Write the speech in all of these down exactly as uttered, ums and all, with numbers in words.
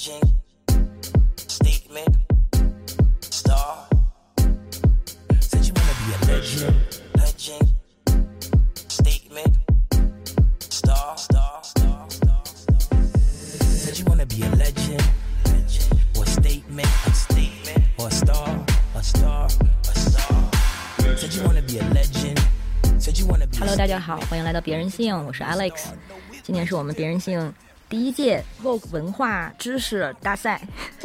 legend, statement, star. Said you wanna be a legend, legend, statement, star, star, star, star. Said you wanna be a legend, legend, or statement, a statement, or a star, a star, a star. Said you wanna be a legend. Hello， 大家好，欢迎来到别人性，我是 Alex。今年是我们别人性第一届 Vogue 文化知识大赛。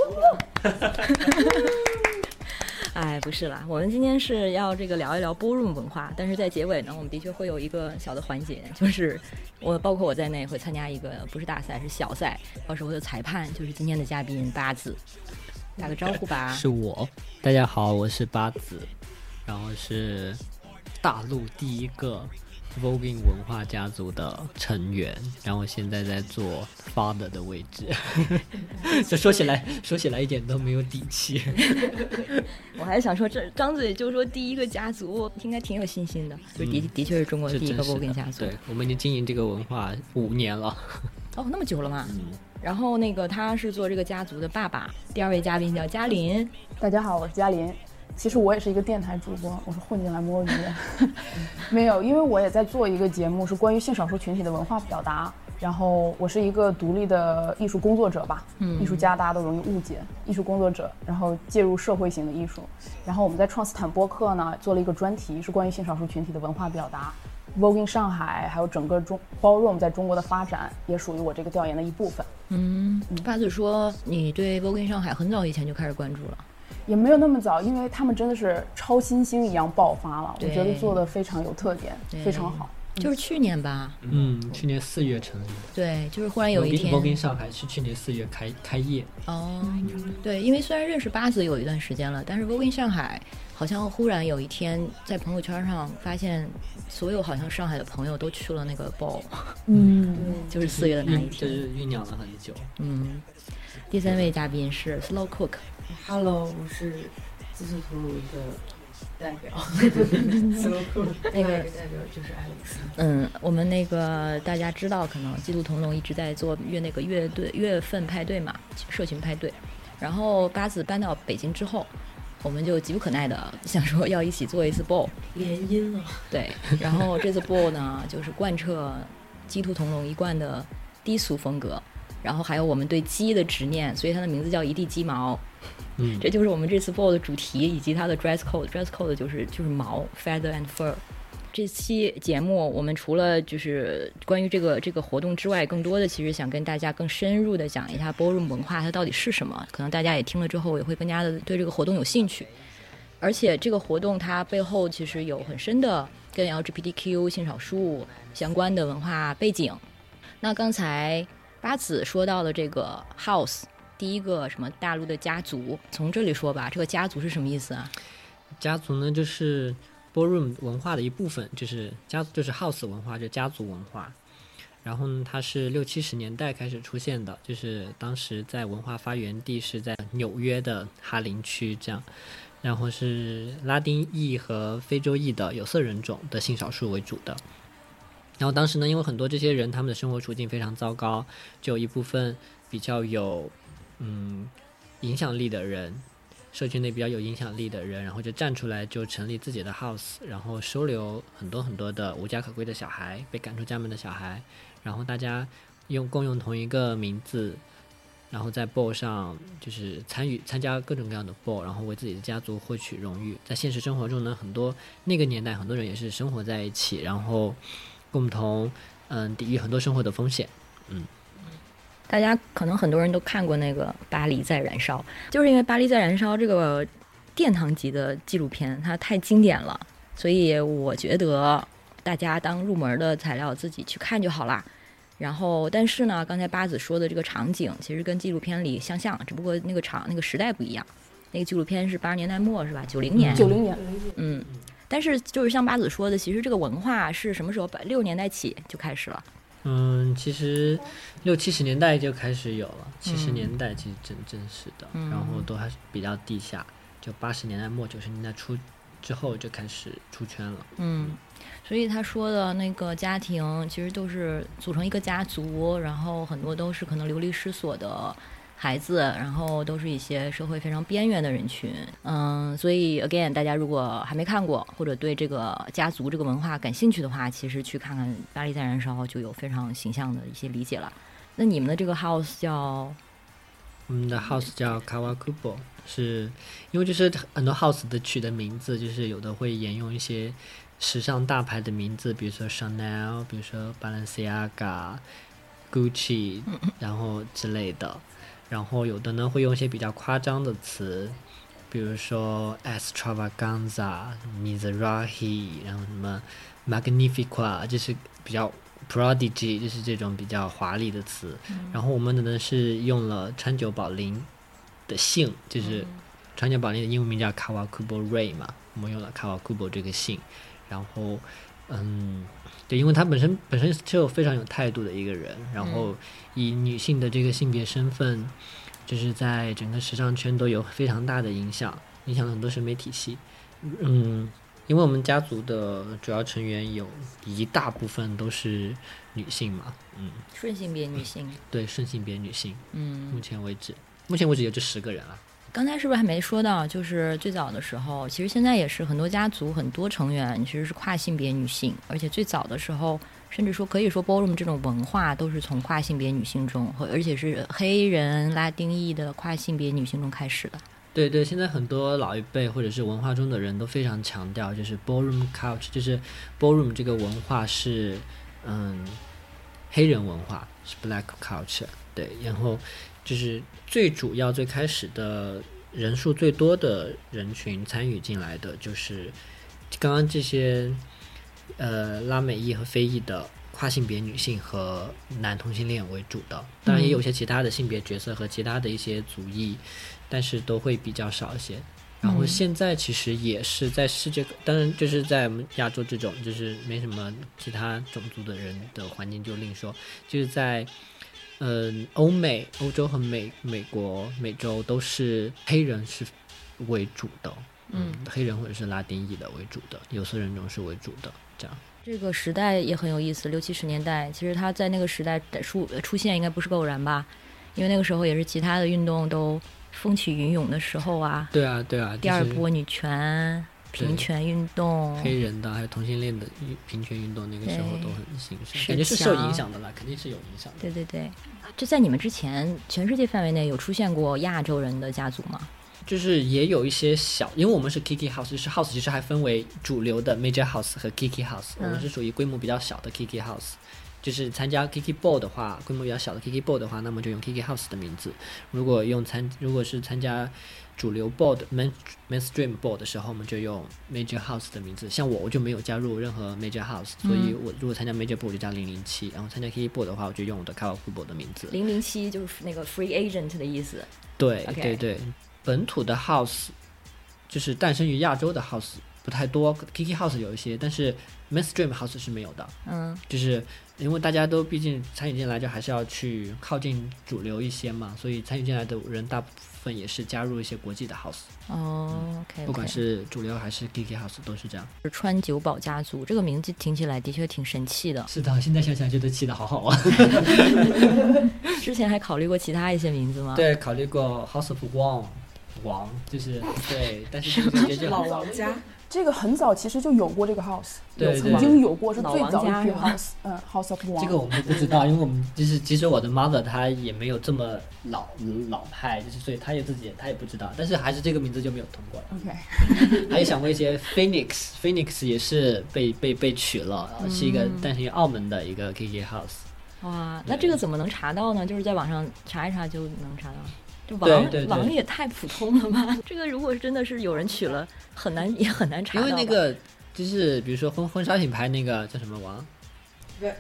哎，不是啦，我们今天是要这个聊一聊 ballroom 文化，但是在结尾呢，我们的确会有一个小的环节，就是我包括我在内会参加一个不是大赛，是小赛，到时候的裁判就是今天的嘉宾八子，打个招呼吧。 是我，大家好，我是八子，然后是大陆第一个 Voguing 文化家族的成员，然后现在在做 father 的位置。这说起来说起来一点都没有底气。 我还想说，这张嘴就说第一个家族，应该挺有信心的。就的、嗯、的确是中国第一个 Voguing 家族。 对，我们已经经营这个文化五年了。 哦，那么久了吗？ 嗯。 然后那个他是做这个家族的爸爸。第二位嘉宾叫嘉林。 大家好，我是嘉林。其实我也是一个电台主播，我是混进来摸鱼的。没有，因为我也在做一个节目，是关于性少数群体的文化表达。然后我是一个独立的艺术工作者吧，嗯，艺术家大家都容易误解，艺术工作者，然后介入社会型的艺术。然后我们在创斯坦播客呢做了一个专题，是关于性少数群体的文化表达。Voguing 上海还有整个中 Ballroom 在中国的发展，也属于我这个调研的一部分。 嗯，八子说你对 Voguing 上海很早以前就开始关注了。 也没有那么早，因为他们真的是超新星一样爆发了，我觉得做的非常有特点，非常好。 就是去年吧， 嗯，去年四月成立的。 对，就是忽然有一天 Voguing 上海是去年四月开开业。 哦，对，因为虽然认识八子有一段时间了，但是 Voguing 上海好像忽然有一天在朋友圈上发现，所有好像上海的朋友都去了那个 ball， 嗯，就是四月的那一天， 就是酝酿了很久。 嗯，第三位嘉宾是 Slow Cook。Hello， 我是自诉图鲁的代表。 那个代表就是 Alex。 嗯，我们那个大家知道，可能基督同龙一直在做月那个乐队月份派对嘛，社群派对。然后八子搬到北京之后，我们就急不可耐的想说要一起做一次 ball， 联姻了。 对，然后这次 ball 呢，就是贯彻基督同龙一贯的低俗风格。然后还有我们对鸡的执念，所以它的名字叫一地鸡毛。嗯，这就是我们这次 ball 的主题以及它的 dress code。dress code 就是就是毛 feather and fur。这期节目我们除了就是关于这个这个活动之外，更多的其实想跟大家更深入的讲一下 ballroom 文化它到底是什么。可能大家也听了之后也会更加的对这个活动有兴趣。而且这个活动它背后其实有很深的跟 L G B T Q 性少数相关的文化背景。那刚才八子说到了这个 house， 第一个什么大陆的家族，从这里说吧，这个家族是什么意思啊？ 家族呢，就是 ballroom 文化的一部分，就是家就是 house 文化，就是家族文化。然后呢，它是六七十年代开始出现的，就是当时在文化发源地是在纽约的哈林区这样。然后是拉丁裔和非洲裔的有色人种的性少数为主的。然后当时呢，因为很多这些人他们的生活处境非常糟糕，就有一部分比较有嗯影响力的人，社区内比较有影响力的人，然后就站出来，就成立自己的 house， 然后收留很多很多的无家可归的小孩，被赶出家门的小孩，然后大家用共用同一个名字，然后在 ball 上就是参与参加各种各样的 ball， 然后为自己的家族获取荣誉。在现实生活中呢，很多那个年代很多人也是生活在一起，然后共同嗯抵御很多生活的风险。嗯， 大家可能很多人都看过那个《巴黎在燃烧》，就是因为《巴黎在燃烧》这个殿堂级的纪录片它太经典了，所以我觉得大家当入门的材料自己去看就好啦。然后但是呢，刚才八子说的这个场景其实跟纪录片里相像，只不过那个场那个时代不一样。那个纪录片是八十年代末是吧？九零年。 九零年。 嗯。但是就是像八子说的，其实这个文化是什么时候？六十年代起就开始了。 嗯，其实六七十年代就开始有了，七十年代其实正正式的、嗯，然后都还是比较地下，就八十年代末九十年代初之后就开始出圈了。 嗯，所以他说的那个家庭其实都是组成一个家族，然后很多都是可能流离失所的孩子，然后都是一些社会非常边缘的人群。嗯，所以 again， 大家如果还没看过或者对这个家族这个文化感兴趣的话，其实去看看《巴黎在燃烧》就有非常形象的一些理解了。那你们的这个 house 叫？ 我们的 house 叫 Kawakubo， 是因为就是很多 house 的取的名字，就是有的会沿用一些时尚大牌的名字，比如说 Chanel， 比如说 Balenciaga、Gucci， 然后之类的。然后有的呢会用一些比较夸张的词，比如说 Extravaganza、Mizrahi， 然后什么 Magnifica， 就是比较Prodigy， 就是这种比较华丽的词、嗯、然后我们的呢是用了川久保玲的姓，就是川久保玲的英文名叫 Kawakubo Ray 嘛，我们用了 Kawakubo 这个姓。然后嗯，对，因为他本身本身就非常有态度的一个人，然后以女性的这个性别身份就是在整个时尚圈都有非常大的影响，影响了很多审美体系。嗯，因为我们家族的主要成员有一大部分都是女性嘛，嗯， 顺性别女性， 对，顺性别女性， 嗯， 目前为止，目前为止也就十个人了。 刚才是不是还没说到，就是最早的时候，其实现在也是很多家族很多成员其实是跨性别女性，而且最早的时候，甚至说可以说 ballroom 这种文化都是从跨性别女性中，而且是黑人、拉丁裔的跨性别女性中开始的。 对对，现在很多老一辈或者是文化中的人都非常强调，就是 ballroom culture， 就是 ballroom 这个文化是嗯黑人文化，是 black culture， 对，然后就是最主要最开始的人数最多的人群参与进来的就是刚刚这些呃拉美裔和非裔的跨性别女性和男同性恋为主的，当然也有些其他的性别角色和其他的一些族裔，但是都会比较少一些。然后现在其实也是在世界，当然就是在我们亚洲这种就是没什么其他种族的人的环境就另说，就是在嗯欧美、欧洲和美美国、美洲都是黑人是为主的，嗯，黑人或者是拉丁裔的为主的，有色人种是为主的，这样。 这个时代也很有意思，六七十年代，其实他在那个时代出出现应该不是个偶然吧，因为那个时候也是其他的运动都风起云涌的时候啊。 对啊对啊， 第二波女权、平权运动， 黑人的还有同性恋的平权运动，那个时候都很兴盛，感觉是受影响的啦，肯定是有影响的。 对对对，这在你们之前，全世界范围内有出现过亚洲人的家族吗？ 就是也有一些小，因为我们是 Kiki House， 就是 House 其实还分为主流的 Major House 和 Kiki House，、嗯、我们是属于规模比较小的 Kiki House。就是参加 Kiki Ball 的话，规模比较小的 Kiki Ball 的话，那么就用 Kiki House 的名字。如果用参，如果是参加主流 Ball 的 main mainstream Ball 的时候，我们就用 Major House 的名字。像我，我就没有加入任何 Major House，、嗯、所以我如果参加 Major Ball 就加零零七，然后参加 Kiki Ball 的话，我就用我的 Kawakubo 的名字。 零零七就是那个 free agent 的意思。 对、 okay. 对对，本土的 House 就是诞生于亚洲的 House 不太多 ，Kiki House 有一些，但是 mainstream House 是没有的。嗯，就是因为大家都毕竟参与进来，就还是要去靠近主流一些嘛，所以参与进来的人大部分也是加入一些国际的 House。 哦、嗯、，OK， 不管是主流还是 Kiki House 都是这样。 川久保家族这个名字听起来的确挺神气的。 是的，现在想想觉得起得好好啊。 之前还考虑过其他一些名字吗？ 对，考虑过 House of Wang， 王就是对，但是这个名字老王家。 这个很早其实就有过这个 house， 对对对， 曾经有过，是最早一批 house， 嗯 ，House of Wang。 这个我们不知道，因为我们就是其实我的 mother 她也没有这么老老派，就是所以她也自己她也不知道，但是还是这个名字就没有通过了。 OK， 还有想过一些 Phoenix，Phoenix 也是被被被取了，嗯、是一个诞生于澳门的一个 Kiki House。 哇，那这个怎么能查到呢？就是在网上查一查就能查到。王对对对， 王也太普通了吧？这个如果真的是有人取了，很难也很难查到。 因为那个就是比如说婚婚纱品牌那个叫什么王 ？Vera，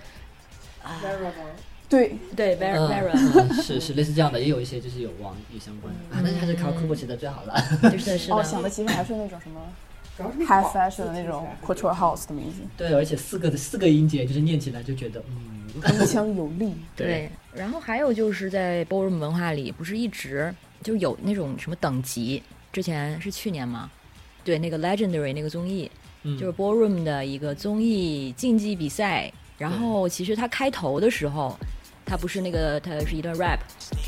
对对 Vera Vera，、 嗯、是是类似这样的，也有一些就是有王也相关的、嗯啊，但是还是靠 Kawakubo 写的最好了。 就是是哦，想的其实还是那种什么 high fashion 的那种 couture house 的名字。 对，而且四个的四个音节就是念起来就觉得嗯。 铿锵有力。 对，然后还有就是在 ballroom 文化里，不是一直就有那种什么等级？之前是去年吗？对，那个 Legendary 那个综艺，嗯、就是 ballroom 的一个综艺竞技比赛。然后其实它开头的时候，它不是那个，它是一段 rap，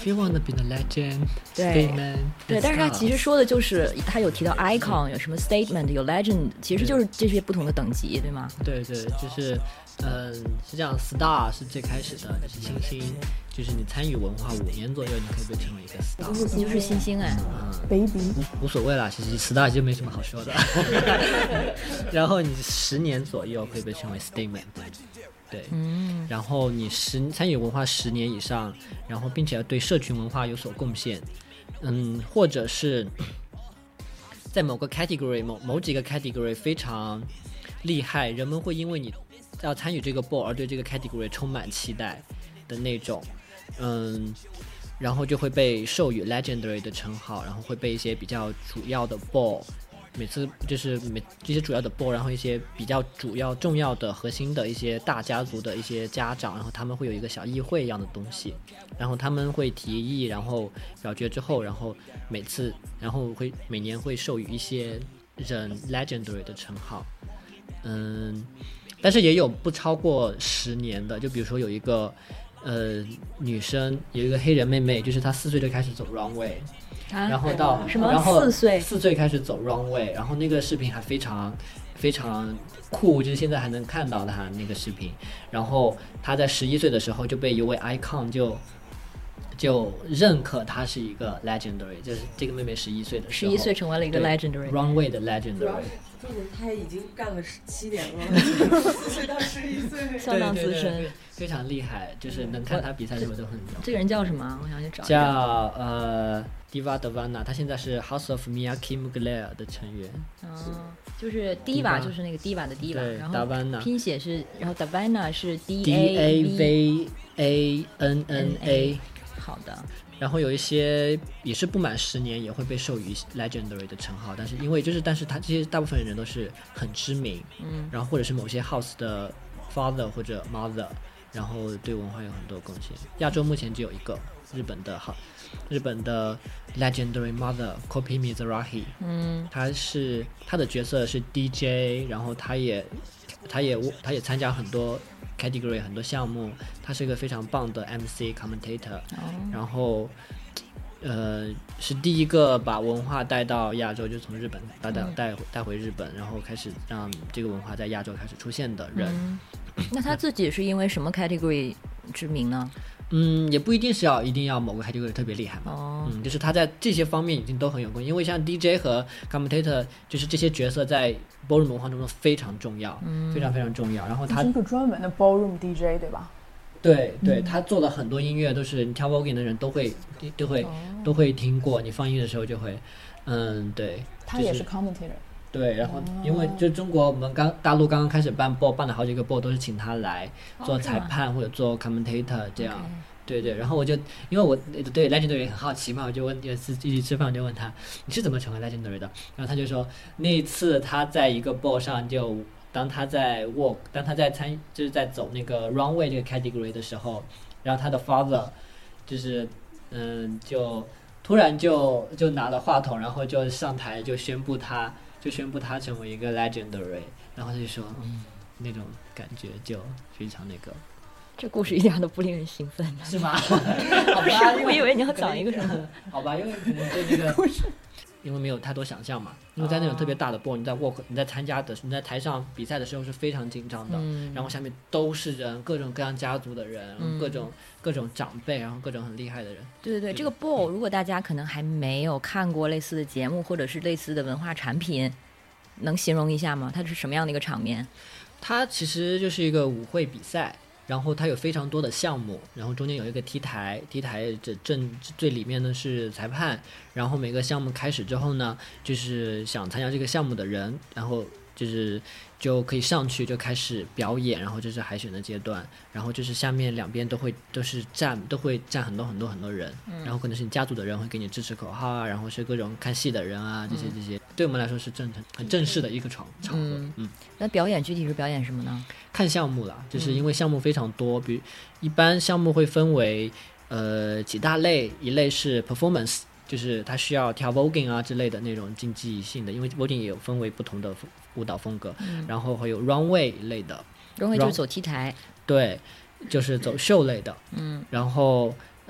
If you wanna be the legend, 对 statement, 对， and 但是他其实 stars 说的就是他有提到 icon， 有什么 statement， 有 legend， 其实就是这些不同的等级，对吗？ 对对，就是嗯是这样 ，star 是最开始的，就是星星，就是你参与文化五年左右，你可以被称为一个 star。 你就是星星哎， 嗯， baby 无所谓啦，其实 star 就没什么好说的。然后你十年左右会被称为 statement。对， 嗯， 然后你十参与文化十年以上，然后并且对社群文化有所贡献，嗯，或者是在某个 category 某某几个 category 非常厉害，人们会因为你要参与这个 ball 而对这个 category 充满期待的那种，嗯，然后就会被授予 legendary 的称号，然后会被一些比较主要的 ball。每次就是每这些主要的 ball， 然后一些比较主要重要的核心的一些大家族的一些家长，然后他们会有一个小议会一样的东西，然后他们会提议，然后表决之后，然后每次然后会每年会授予一些人 legendary 的称号，嗯，但是也有不超过十年的，就比如说有一个呃女生有一个黑人妹妹，就是她四岁就开始走 runway。 啊、 然后到什么然后四岁四岁开始走 runway， 然后那个视频还非常非常酷，就是现在还能看到他那个视频。然后他在十一岁的时候就被一位 icon 就就认可他是一个 legendary， 就是这个妹妹十一岁的时候， 十一岁成为了一个 legendary runway 的 legendary。 重点他已经干了七年了，四岁到十一岁， 相当资深， 对对对，非常厉害，就是能看他比赛的时候都很牛。 这个人叫什么？我想去找一叫下。 呃 Diva Davana， 他现在是 House of Miyake Mugler 的成员。 哦，就是 Diva， 就是那个 Diva 的 Diva， 对然后 Davana 拼写是，然后 Davana 是 D D A V A N N A。 好的。 然后有一些也是不满十年也会被授予 legendary 的称号，但是因为就是但是他这些大部分人都是很知名， 嗯， 然后或者是某些 house 的 father 或者 mother， 然后对文化有很多贡献。亚洲目前只有一个日本的好日本的 legendary mother Kopi Mizrahi， 嗯， 他是他的角色是 D J， 然后他也他也他也参加很多 category 很多项目，他是一个非常棒的 M C commentator， 哦， 然后呃是第一个把文化带到亚洲，就从日本带带带带回日本，然后开始让这个文化在亚洲开始出现的人。 嗯，那他自己是因为什么 category 知名呢？ 嗯，也不一定是要一定要某个 category 特别厉害嘛。 哦， 嗯，就是他在这些方面已经都很有功，因为像 D J 和 commentator， 就是这些角色在 ballroom 文化中非常重要，嗯，非常非常重要。然后他是一个专门的 ballroom D J， 对吧？ 对对，他做了很多音乐，都是你跳 voguing 的人都会都会、哦、都会听过，你放音的时候就会，嗯，对。 他也是 commentator。 对，然后因为就中国我们刚大陆刚刚开始办 ball， 办了好几个 ball 都是请他来做裁判、oh, 或者做 commentator 这样。Okay. 对对，然后我就因为我对 legendary 很好奇嘛，我就问有一次一起吃饭，我就问他你是怎么成为 legendary 的？然后他就说那一次他在一个 ball 上就当他在 walk， 当他在参就是在走那个 runway 这个 category 的时候，然后他的 father 就是嗯就突然就就拿了话筒，然后就上台就宣布他就宣布他成为一个 legendary， 然后他就说嗯那种感觉就非常那个。 这故事一点都不令人兴奋， 是吗？ 好吧，我以为你要讲一个什么？ 好吧，因为可能对那个，因为没有太多想象嘛。因为在那种特别大的 ball， 你在 walk， 你在参加的，你在台上比赛的时候是非常紧张的，嗯、然后下面都是人，各种各样家族的人，嗯、各种各种长辈，然后各种很厉害的人。 对对对，这个 ball 如果大家可能还没有看过类似的节目或者是类似的文化产品，能形容一下吗？它是什么样的一个场面？ 它其实就是一个舞会比赛。然后它有非常多的项目，然后中间有一个 T 台 T 台这正最里面呢是裁判，然后每个项目开始之后呢，就是想参加这个项目的人，然后就是就可以上去就开始表演，然后这是海选的阶段，然后就是下面两边都会都是站都会站很多很多很多人，嗯、然后可能是你家族的人会给你支持口号啊，然后是各种看戏的人啊，这些这些，对我们来说是正很正式的一个场场合。嗯，嗯那表演具体是表演什么呢？ 看项目啦，就是因为项目非常多，比如一般项目会分为呃几大类，一类是 performance， 就是它需要跳 voguing 啊之类的那种竞技性的，因为 voguing 也有分为不同的舞蹈风格，嗯、然后还有 runway 一类的 ，runway 就是走 T 台， 对，就是走秀类的， 嗯， 然后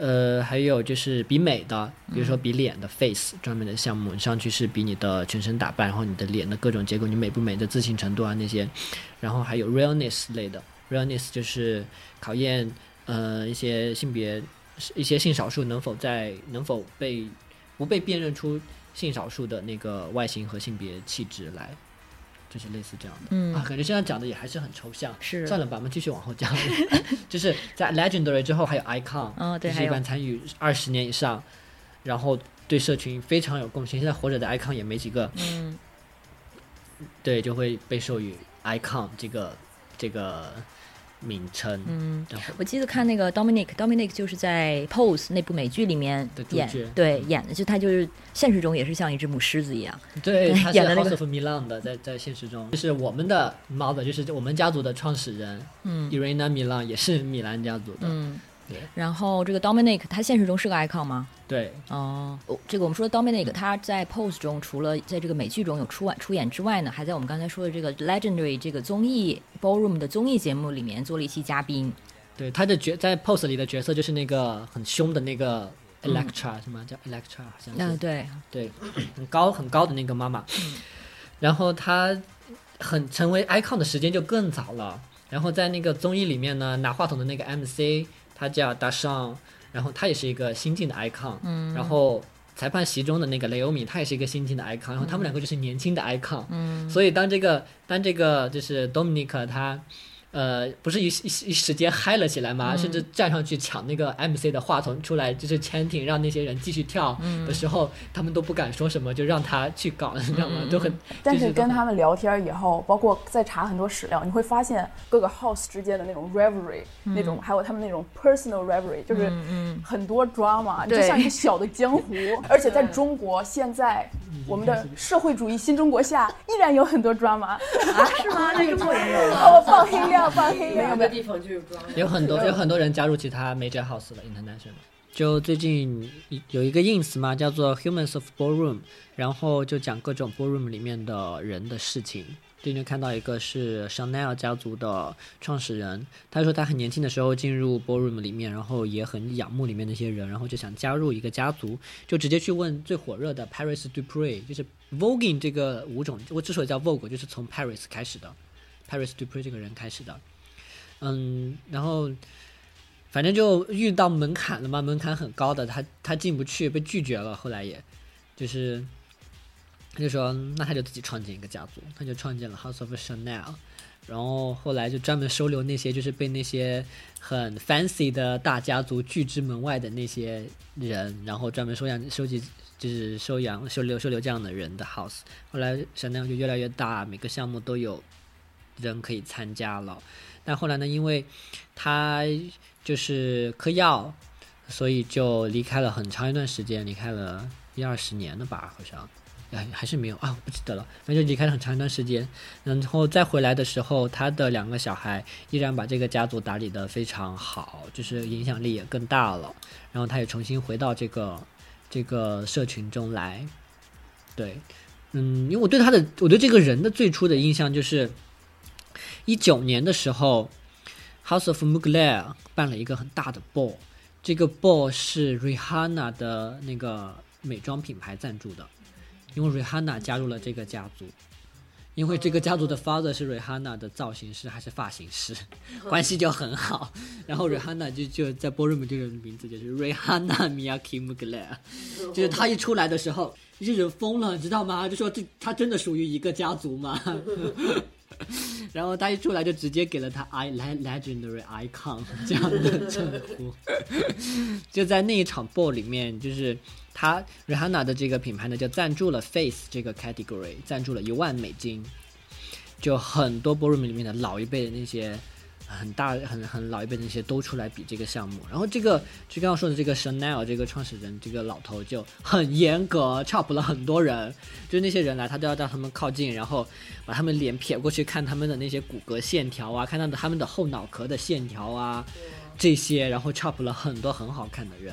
呃，还有就是比美的，比如说比脸的 face 专门的项目，上去是比你的全身打扮，然后你的脸的各种结构，你美不美的自信程度啊那些，然后还有 realness 类的 realness 就是考验呃一些性别一些性少数能否在能否被不被辨认出性少数的那个外形和性别气质来。就是类似这样的，嗯啊，感觉现在讲的也还是很抽象， 是算了吧，我们继续往后讲。就是在 Legendary 之后还有 Icon， 哦对， 就是一般参与二十年以上，然后对社群非常有贡献。现在活着的 Icon 也没几个， 嗯， 对，就会被授予 Icon 这个这个名称。 嗯，我记得看那个 Dominic，Dominic 就是在 Pose 那部美剧里面演，对，演的就他就是现实中也是像一只母狮子一样。 对，他是演的那 House 个 of Milan 的，在在现实中，就是我们的 mother， 就是我们家族的创始人，嗯 ，Irina Milan 也是米兰家族的， 嗯。然后这个 Dominic 他现实中是个 icon 吗？ 对， 哦，这个我们说的 Dominic 他在 Pose 中除了在这个美剧中有出出演之外呢，还在我们刚才说的这个 Legendary 这个综艺 Ballroom 的综艺节目里面做了一期嘉宾。 对，他的角在 Pose 里的角色就是那个很凶的那个 Electra，、嗯、什么叫 Electra 好像是、 啊、对对，很高很高的那个妈妈、嗯、然后他很成为 icon 的时间就更早了，然后在那个综艺里面呢，拿话筒的那个 M C他叫 Dashan， 然后他也是一个新晋的 icon，、嗯、然后裁判席中的那个雷欧米他也是一个新晋的 icon， 然后他们两个就是年轻的 icon，、嗯、所以当这个当这个就是 Dominic 他呃，不是一一一时间嗨了起来吗、嗯？甚至站上去抢那个 M C 的话筒出来，就是 chanting 让那些人继续跳的时候、嗯，他们都不敢说什么，就让他去搞，你知道吗？嗯、都很。 但是跟他们聊天以后，包括在查很多史料，你会发现各个 house 之间的那种 revelry，、嗯、那种还有他们那种 personal revelry， 就是很多 drama，、嗯、就像一个小的江湖。而且在中国现在，我们的社会主义新中国下，依然有很多 drama 啊？ 是吗？在中国也有。 哦，放黑料。放黑料， 每个地方就有装， 有很多有很多人加入其他 major house 了 international。就最近有一个 ins 嘛，叫做 Humans of Ballroom， 然后就讲各种 ballroom 里面的人的事情。最近看到一个是 Chanel 家族的创始人，他说他很年轻的时候进入 ballroom 里面，然后也很仰慕里面那些人，然后就想加入一个家族，就直接去问最火热的 Paris Dupree， 就是 Voguing 这个舞种，我之所以叫 Vogue 就是从 Paris 开始的。Paris Dupree 这个人开始的，嗯，然后反正就遇到门槛了嘛，门槛很高的，他他进不去，被拒绝了。后来也就是他就说，那他就自己创建一个家族，他就创建了 House of Chanel， 然后后来就专门收留那些就是被那些很 fancy 的大家族拒之门外的那些人，然后专门收养收集。就是收养收留收留这样的人的 house， 后来 Chanel 就越来越大，每个项目都有人可以参加了，但后来呢，因为他就是嗑药，所以就离开了很长一段时间，离开了一二十年了吧，好像，哎，还是没有啊，不记得了，反正就离开了很长一段时间。然后再回来的时候，他的两个小孩依然把这个家族打理得非常好，就是影响力也更大了。然后他也重新回到这个这个社群中来，对，嗯，因为我对他的，我对这个人的最初的印象就是。一九年的时候 House of Mugler 办了一个很大的 ball， 这个 ball 是 Rihanna 的那个美妆品牌赞助的，因为 Rihanna 加入了这个家族，因为这个家族的 father 是 Rihanna 的造型师还是发型师，关系就很好，然后 Rihanna 就就在 ballroom 这个名字就是 Rihanna Miyake Mugler， 就是他一出来的时候这些人疯了，知道吗？就说这他真的属于一个家族吗？然后他一出来就直接给了他 I legendary icon 这样的称呼。就在那一场 ball 里面，就是他 Rihanna 的这个品牌呢就赞助了 Face 这个 category， 赞助了一万美金，就很多 ballroom 里面的老一辈的那些很大很很老一辈的那些都出来比这个项目。然后这个就刚刚说的这个 Chanel 这个创始人这个老头就很严格 chop 了很多人，就是那些人来他都要让他们靠近，然后把他们脸撇过去看他们的那些骨骼线条啊，看到他们的后脑壳的线条啊这些，然后 chop 了很多很好看的人，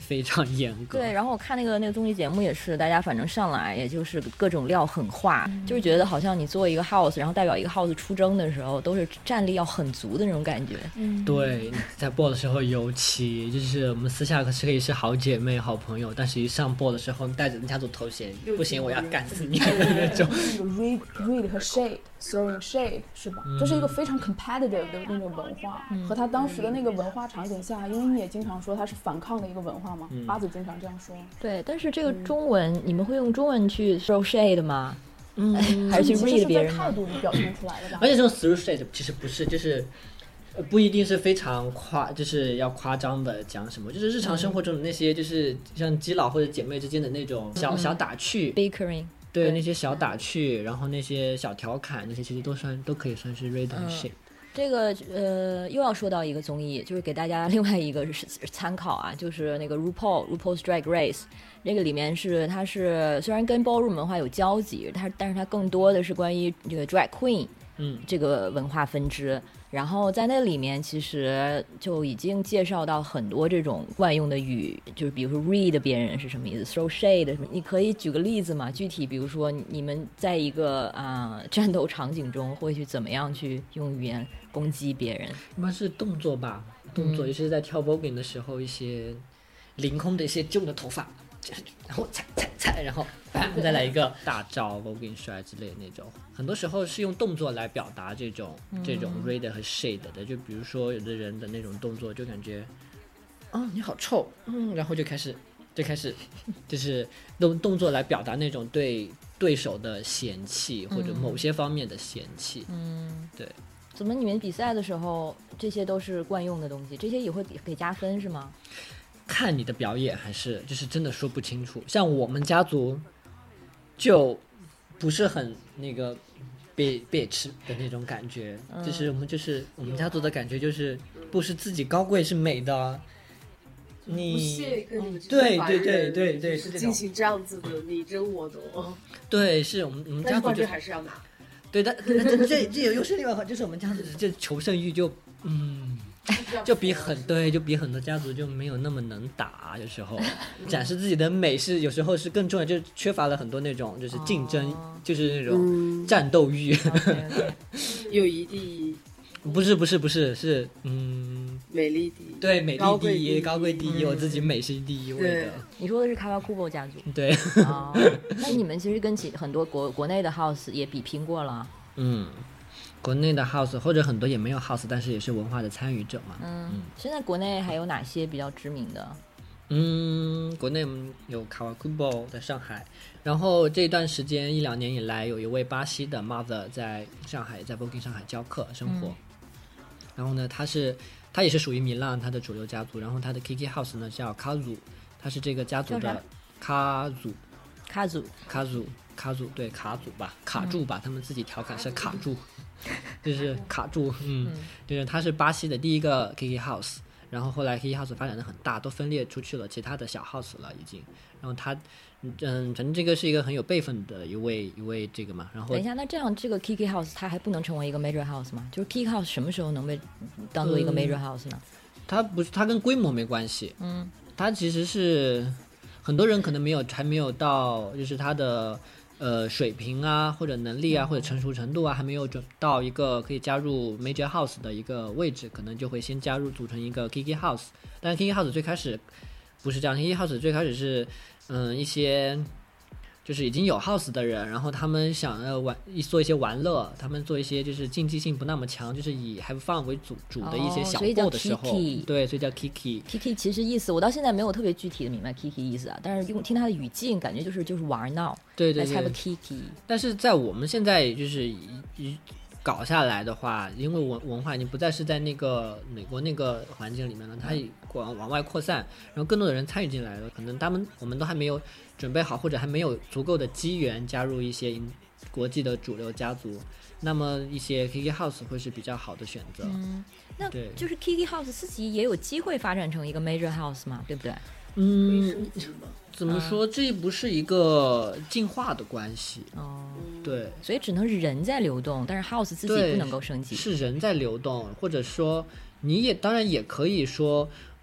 非常严格。 对，然后我看那个那个综艺节目也是，大家反正上来也就是各种料很化，嗯、就是觉得好像你做一个 house， 然后代表一个 house 出征的时候，都是战力要很足的那种感觉。 嗯，对，在播的时候尤其就是我们私下可是可以是好姐妹、好朋友，但是一上播的时候带着家族头衔，不行，我要干死你那种。 那个 read read 和 shade throwing shade 是吧？嗯、这是一个非常 competitive 的那种文化，嗯、和他当时的那个文化场景下，因为你也经常说它是反抗的一个文化嘛，嗯、八子经常这样说。 对，但是这个中文、嗯、你们会用中文去 throw shade 吗？嗯，还是去 read 别人吗？ 态度里表现出来的吧。 而且这种 throw shade 其实不是，就是不一定是非常夸，就是要夸张的讲什么，就是日常生活中的那些，就是像基佬或者姐妹之间的那种小、嗯、小打趣 bickering。 对，那些小打趣，然后那些小调侃，那些其实都算都可以算是 read and shade。 这个呃，又要说到一个综艺，就是给大家另外一个参考啊，就是那个 RuPaul RuPaul's Drag Race， 这个里面是它是虽然跟 ballroom 文化有交集，它但是它更多的是关于这个 drag queen， 嗯， 这个文化分支。然后在那里面其实就已经介绍到很多这种惯用的语，就是比如说 read 别人是什么意思 ，throw shade 什么，你可以举个例子吗？具体比如说你们在一个啊、呃、战斗场景中会去怎么样去用语言攻击别人？ 一般是动作吧，动作，尤其是在跳 voguing 的时候，一些凌空的一些旧的头发，然后踩踩踩，然后再来一个大招 voguing 摔之类的那种。很多时候是用动作来表达这种、嗯、这种 read 和 shade 的，就比如说有的人的那种动作就感觉哦你好臭，嗯，然后就开始就开始就是用动作来表达那种对对手的嫌弃或者某些方面的嫌弃。 嗯， 对。 怎么你们比赛的时候这些都是惯用的东西，这些也会给加分是吗？ 看你的表演，还是就是真的说不清楚。像我们家族就不是很那个被被吃的那种感觉、嗯、就是我们就是我们家族的感觉就是不是自己高贵是美的，你不屑跟你们对对对对对是进行这样子的你争我夺。 对，是我们我们家族就还是要拿。 对，但这这这又是另外一个，就是我们家族这求胜欲就嗯。就比很对，就比很多家族就没有那么能打，有时候展示自己的美是有时候是更重要，就缺乏了很多那种就是竞争，哦、就是那种战斗欲。 嗯、 友谊第一， 不是不是不是是嗯， 美丽第一， 对，美丽第一，高贵第一，嗯、我自己美是第一位的。 你说的是卡瓦库波家族， 对。 哦，那你们其实跟其很多国国内的 house 也比拼过了。 嗯。国内的 house 或者很多也没有 house， 但是也是文化的参与者嘛。 嗯，嗯现在国内还有哪些比较知名的？ 嗯，国内有卡瓦库波在上海，然后这段时间一两年以来，有一位巴西的 mother 在上海，在 voguing 上海教课生活。嗯、然后呢，他是他也是属于米兰他的主流家族，然后他的 Kiki House 呢叫卡祖，他是这个家族的卡祖， 卡祖， 卡祖，卡祖，对，卡祖吧，卡住吧，嗯、他们自己调侃是卡住。就是卡住，嗯，嗯就是他是巴西的第一个 Kiki House， 然后后来 Kiki House 发展的很大，都分裂出去了其他的小 house 了已经。然后他，嗯，反正这个是一个很有辈分的一位一位这个嘛。然后等一下，那这样这个 Kiki House 它还不能成为一个 major house 吗？就是 Kiki House 什么时候能被当做一个 major house 呢？嗯、 它不是，它跟规模没关系。 嗯， 它其实是很多人可能没有还没有到，就是它的。呃，水平啊，或者能力啊，或者成熟程度啊，还没有准到一个可以加入 major house 的一个位置，可能就会先加入组成一个 Kiki House。但是 Kiki House 最开始不是这样 ，Kiki House 最开始是嗯、呃、一些就是已经有 house 的人，然后他们想要玩做一些玩乐，他们做一些就是竞技性不那么强，就是以 have fun 为主主的一些小 ball 的时候， 哦、Kiki 对，所以叫 Kiki。 Kiki 其实意思我到现在没有特别具体的明白 Kiki 意思啊，但是用听他的语境，感觉就是就是玩闹， 对对对 ，Let's have a Kiki。 但是在我们现在就是一搞下来的话，因为文文化已经不再是在那个美国那个环境里面了，它往往外扩散，然后更多的人参与进来了，可能他们我们都还没有准备好，或者还没有足够的机缘加入一些国际的主流家族，那么一些 Kiki House 会是比较好的选择。 嗯，那就是 Kiki House 自己也有机会发展成一个 major house 嘛，对不对？ 嗯，怎么说？这不是一个进化的关系哦， 对， 所以只能是人在流动，但是 house 自己不能够升级， 是人在流动，或者说你也当然也可以说，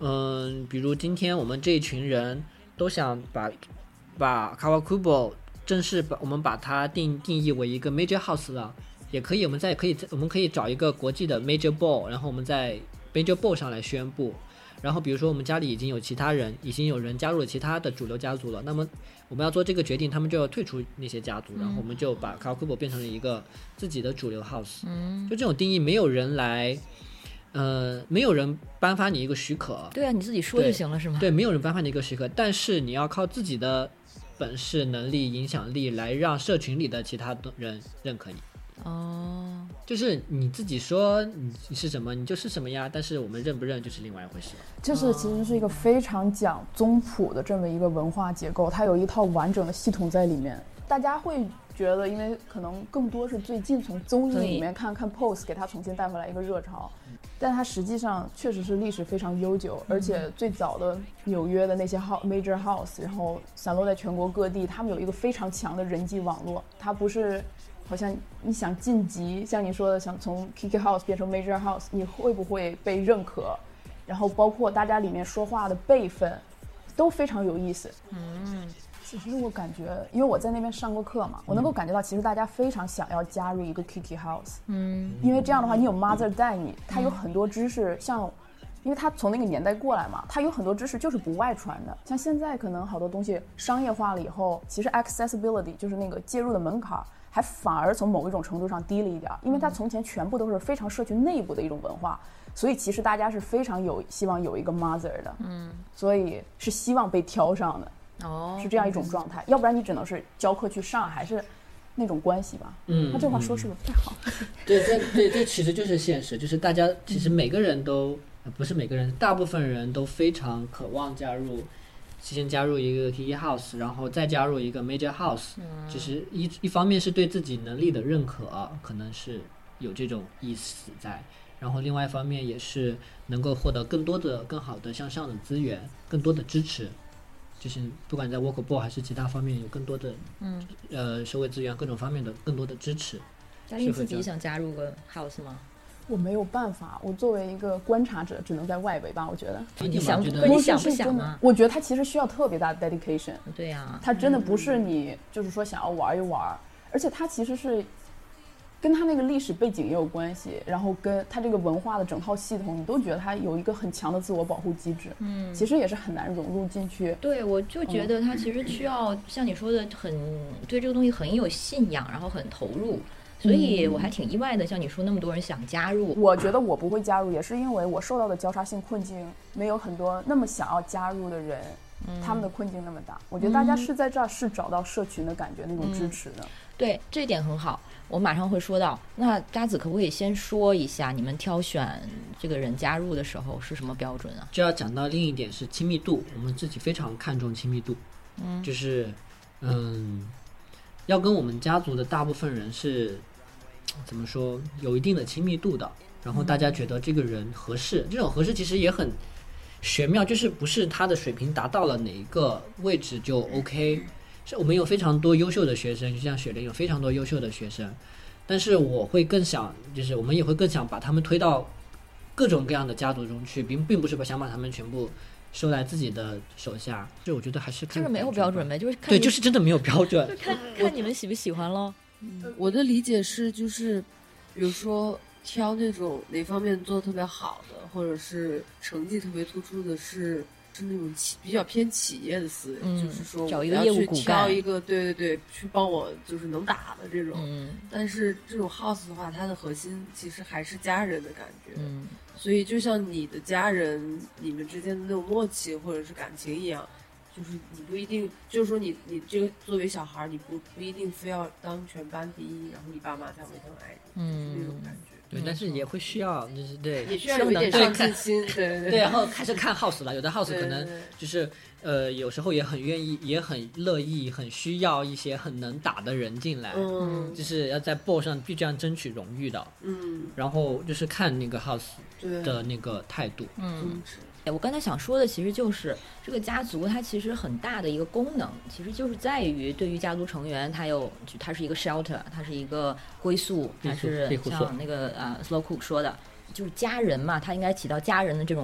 嗯，比如今天我们这一群人都想把把 Kawakubo 正式把我们把它定定义为一个 major house 了，也可以，我们再可以我们可以找一个国际的 major ball， 然后我们在 major ball 上来宣布。然后比如说我们家里已经有其他人，已经有人加入了其他的主流家族了，那么我们要做这个决定，他们就要退出那些家族，然后我们就把 Kawakubo 变成了一个自己的主流 house。嗯，就这种定义，没有人来。呃，没有人颁发你一个许可。 对啊，你自己说就行了是吗？ 对，没有人颁发你一个许可，但是你要靠自己的本事、能力、影响力来让社群里的其他人认可你。 哦， 就是你自己说你是什么，你就是什么呀，但是我们认不认就是另外一回事了。 就是其实是一个非常讲宗谱的这么一个文化结构，它有一套完整的系统在里面。大家会觉得，因为可能更多是最近从综艺里面看看 Pose 给它重新带回来一个热潮，但它实际上确实是历史非常悠久，而且最早的纽约的那些 major house， 然后散落在全国各地，他们有一个非常强的人际网络。它不是好像你想晋级，像你说的想从 Kiki House 变成 major house， 你会不会被认可，然后包括大家里面说话的辈分都非常有意思。嗯，其实我感觉，因为我在那边上过课嘛，我能够感觉到，其实大家非常想要加入一个 Kiki House， 嗯，因为这样的话，你有 mother 带你，他有很多知识，像，因为他从那个年代过来嘛，他有很多知识就是不外传的。像现在可能好多东西商业化了以后，其实 accessibility 就是那个介入的门槛，还反而从某一种程度上低了一点，因为它从前全部都是非常社群内部的一种文化，所以其实大家是非常有希望有一个 mother 的，嗯，所以是希望被挑上的。哦，是这样一种状态，要不然你只能是教课去上，还是那种关系吧。嗯，他这话说是不是不太好？ 对，这对这其实就是现实，就是大家其实每个人都、嗯、不是每个人，大部分人都非常渴望加入，先加入一个 Kiki House， 然后再加入一个 Major House。嗯，只是一一方面是对自己能力的认可，可能是有这种意思在。然后另外一方面也是能够获得更多的、更好的向上的资源，更多的支持。就是不管在 Workable 还是其他方面有更多的嗯呃社会资源各种方面的更多的支持。 嘉玲自己想加入个 house 吗？ 我没有办法，我作为一个观察者只能在外围吧，我觉得。 你想你想不想吗？ 我觉得它其实需要特别大的 dedication。 对呀、啊， 它真的不是你就是说想要玩一玩，而且它其实是跟他那个历史背景也有关系，然后跟他这个文化的整套系统，你都觉得他有一个很强的自我保护机制。嗯，其实也是很难融入进去。 对，我就觉得他其实需要、嗯、像你说的很对这个东西很有信仰，然后很投入。所以我还挺意外的，像你说那么多人想加入。 我觉得我不会加入，也是因为我受到的交叉性困境没有很多那么想要加入的人。嗯、他们的困境那么大，我觉得大家是在这儿是找到社群的感觉、嗯、那种支持的。 对，这一点很好，我马上会说到。那渣子可不可以先说一下你们挑选这个人加入的时候是什么标准啊？ 就要讲到另一点是亲密度，我们自己非常看重亲密度。嗯，就是嗯，要跟我们家族的大部分人是怎么说有一定的亲密度的，然后大家觉得这个人合适、嗯、这种合适其实也很玄妙，就是不是他的水平达到了哪一个位置就 OK。是我们有非常多优秀的学生，就像雪玲有非常多优秀的学生，但是我会更想，就是我们也会更想把他们推到各种各样的家族中去，并并不是想把他们全部收来自己的手下。就我觉得还是看这个没有标准呗，就是看对，就是真的没有标准， 就看看你们喜不喜欢咯。 我的理解是，就是比如说挑那种哪方面做得特别好的，或者是成绩特别突出的是。是那种企比较偏企业的思维、嗯、就是说找一个业务骨干， 挑一个对对对去帮我就是能打的这种、嗯、但是这种 house 的话它的核心其实还是家人的感觉、嗯、所以就像你的家人你们之间的那种默契或者是感情一样，就是你不一定就是说你你这个作为小孩你不不一定非要当全班第一，然后你爸妈才会更爱你，嗯，就是那种感觉。 对，但是也会需要，就是对， 也需要有一点上进心，对对对。 对，然后开始看 house 了，有的 house 可能就是呃，有时候也很愿意，也很乐意，很需要一些很能打的人进来，嗯，就是要在 ball 上必这样争取荣誉的，嗯，然后就是看那个 house 的那个态度， 嗯。我刚才想说的其实就是这个家族它其实很大的一个功能其实就是在于对于家族成员它有它是一个 shelter， 它是一个归宿，它是像那个呃 Slow Cook 说的就是家人嘛，它应该起到家人的这种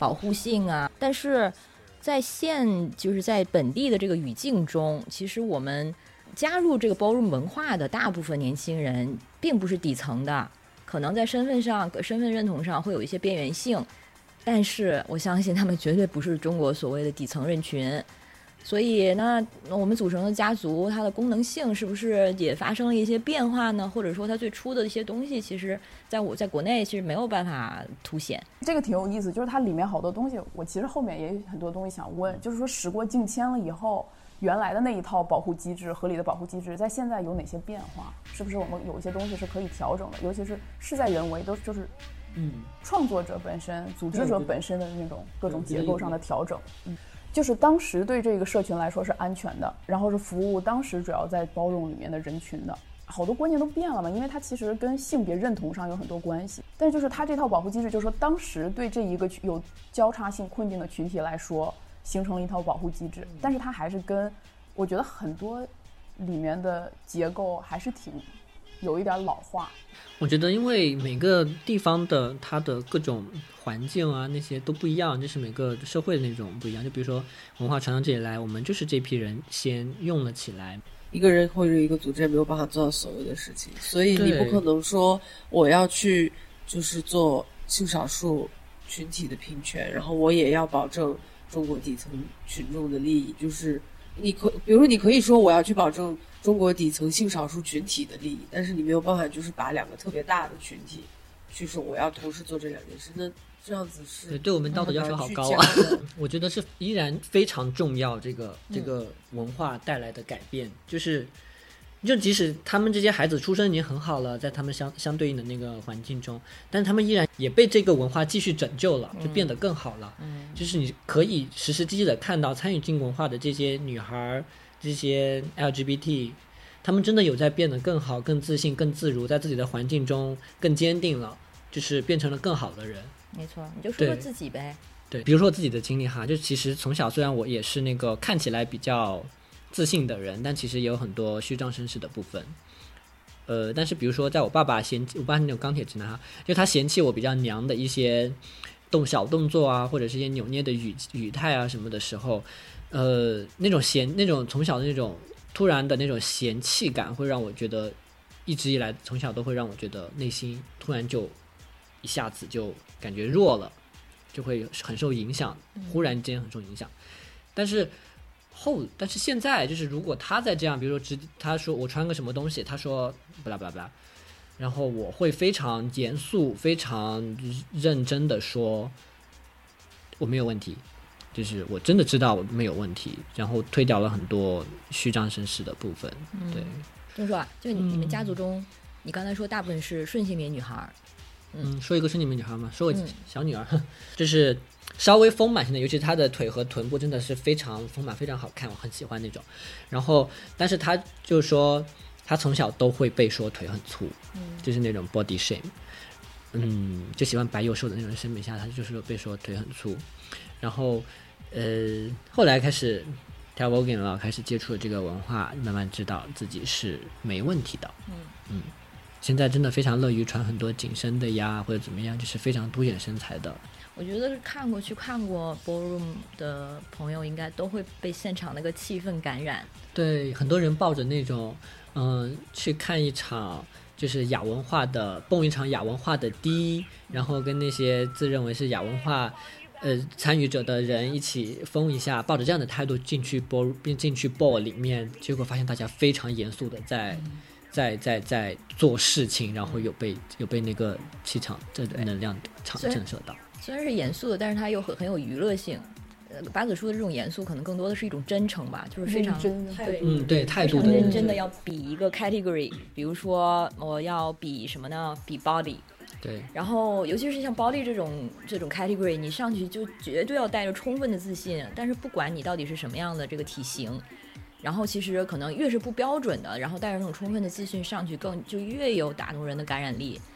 保护性啊。但是在现就是在本地的这个语境中，其实我们加入这个 ballroom 文化的大部分年轻人并不是底层的，可能在身份上身份认同上会有一些边缘性，但是我相信他们绝对不是中国所谓的底层人群。所以那我们组成的家族它的功能性是不是也发生了一些变化呢？或者说它最初的一些东西其实在我在国内其实没有办法凸显。 这个挺有意思，就是它里面好多东西我其实后面也有很多东西想问，就是说时过境迁了以后，原来的那一套保护机制合理的保护机制在现在有哪些变化，是不是我们有一些东西是可以调整的，尤其是事在人为，都就是嗯创作者本身组织者本身的那种各种结构上的调整。嗯，就是当时对这个社群来说是安全的，然后是服务当时主要在包容里面的人群的，好多观念都变了嘛，因为它其实跟性别认同上有很多关系。但是就是它这套保护机制，就是说当时对这一个有交叉性困境的群体来说形成了一套保护机制，但是它还是跟我觉得很多里面的结构还是挺有一点老化。 我觉得因为每个地方的它的各种环境啊那些都不一样，就是每个社会的那种不一样，就比如说文化传到这里来，我们就是这批人先用了起来， 一个人或者一个组织也没有办法做到所有的事情，所以你不可能说我要去就是做性少数群体的平权，然后我也要保证中国底层群众的利益，就是你可比如说你可以说我要去保证中国底层性少数群体的利益，但是你没有办法就是把两个特别大的群体去说我要同时做这两件事，那这样子是对对我们道德要求好高啊。我觉得是依然非常重要，这个这个文化带来的改变，嗯、就是就即使他们这些孩子出生已经很好了，在他们相相对应的那个环境中，但他们依然也被这个文化继续拯救了，就变得更好了。嗯，就是你可以实实际际的看到参与进文化的这些女孩，这些 L G B T， 他们真的有在变得更好、更自信、更自如，在自己的环境中更坚定了，就是变成了更好的人。 没错，你就说说自己呗。 对，比如说我自己的经历哈，就其实从小虽然我也是那个看起来比较自信的人，但其实也有很多虚张声势的部分。呃，但是比如说在我爸爸嫌弃我爸那种钢铁直男哈，就他嫌弃我比较娘的一些动小动作啊，或者是一些扭捏的语语态啊什么的时候，呃，那种嫌那种从小的那种突然的那种嫌弃感，会让我觉得一直以来从小都会让我觉得内心突然就一下子就感觉弱了，就会很受影响，忽然间很受影响。但是后，但是现在就是如果他在这样，比如说直他说我穿个什么东西，他说不啦不啦不啦，然后我会非常严肃、非常认真的说我没有问题，就是我真的知道我没有问题，然后推掉了很多虚张声势的部分。对， 就是说啊，就你你们家族中，嗯、你刚才说大部分是顺性别女孩。 嗯，说一个顺性别女孩嘛，说我小女儿，嗯、就是稍微丰满型的，尤其她的腿和臀部真的是非常丰满，非常好看，我很喜欢那种。然后，但是她就说，她从小都会被说腿很粗，嗯、就是那种 body shame， 嗯，就喜欢白幼瘦的那种审美下，她就是被说腿很粗。然后，呃，后来开始跳 voguing 了，开始接触了这个文化，慢慢知道自己是没问题的。嗯嗯。现在真的非常乐于穿很多紧身的呀，或者怎么样，就是非常凸显身材的。 我觉得看过去看过 ballroom 的朋友，应该都会被现场那个气氛感染。 对，很多人抱着那种，嗯、呃，去看一场就是亚文化的，蹦一场亚文化的迪，然后跟那些自认为是亚文化，呃，参与者的人一起疯一下，抱着这样的态度进去 ball， 并进去 ball 里面，结果发现大家非常严肃的在。嗯在在在做事情，然后有被有被那个气场这能量场震慑到。 虽然是严肃的，但是它又很很有娱乐性。呃，八子书的这种严肃，可能更多的是一种真诚吧，就是非常真的， 对， 嗯，对，态度的认真的要比一个 category， 比如说我要比什么呢？比 body。 对。 然后，尤其是像 body 这种这种 category， 你上去就绝对要带着充分的自信。但是不管你到底是什么样的这个体型。然后其实可能越是不标准的，然后带着那种充分的自信上去，更就越有打动人的感染力。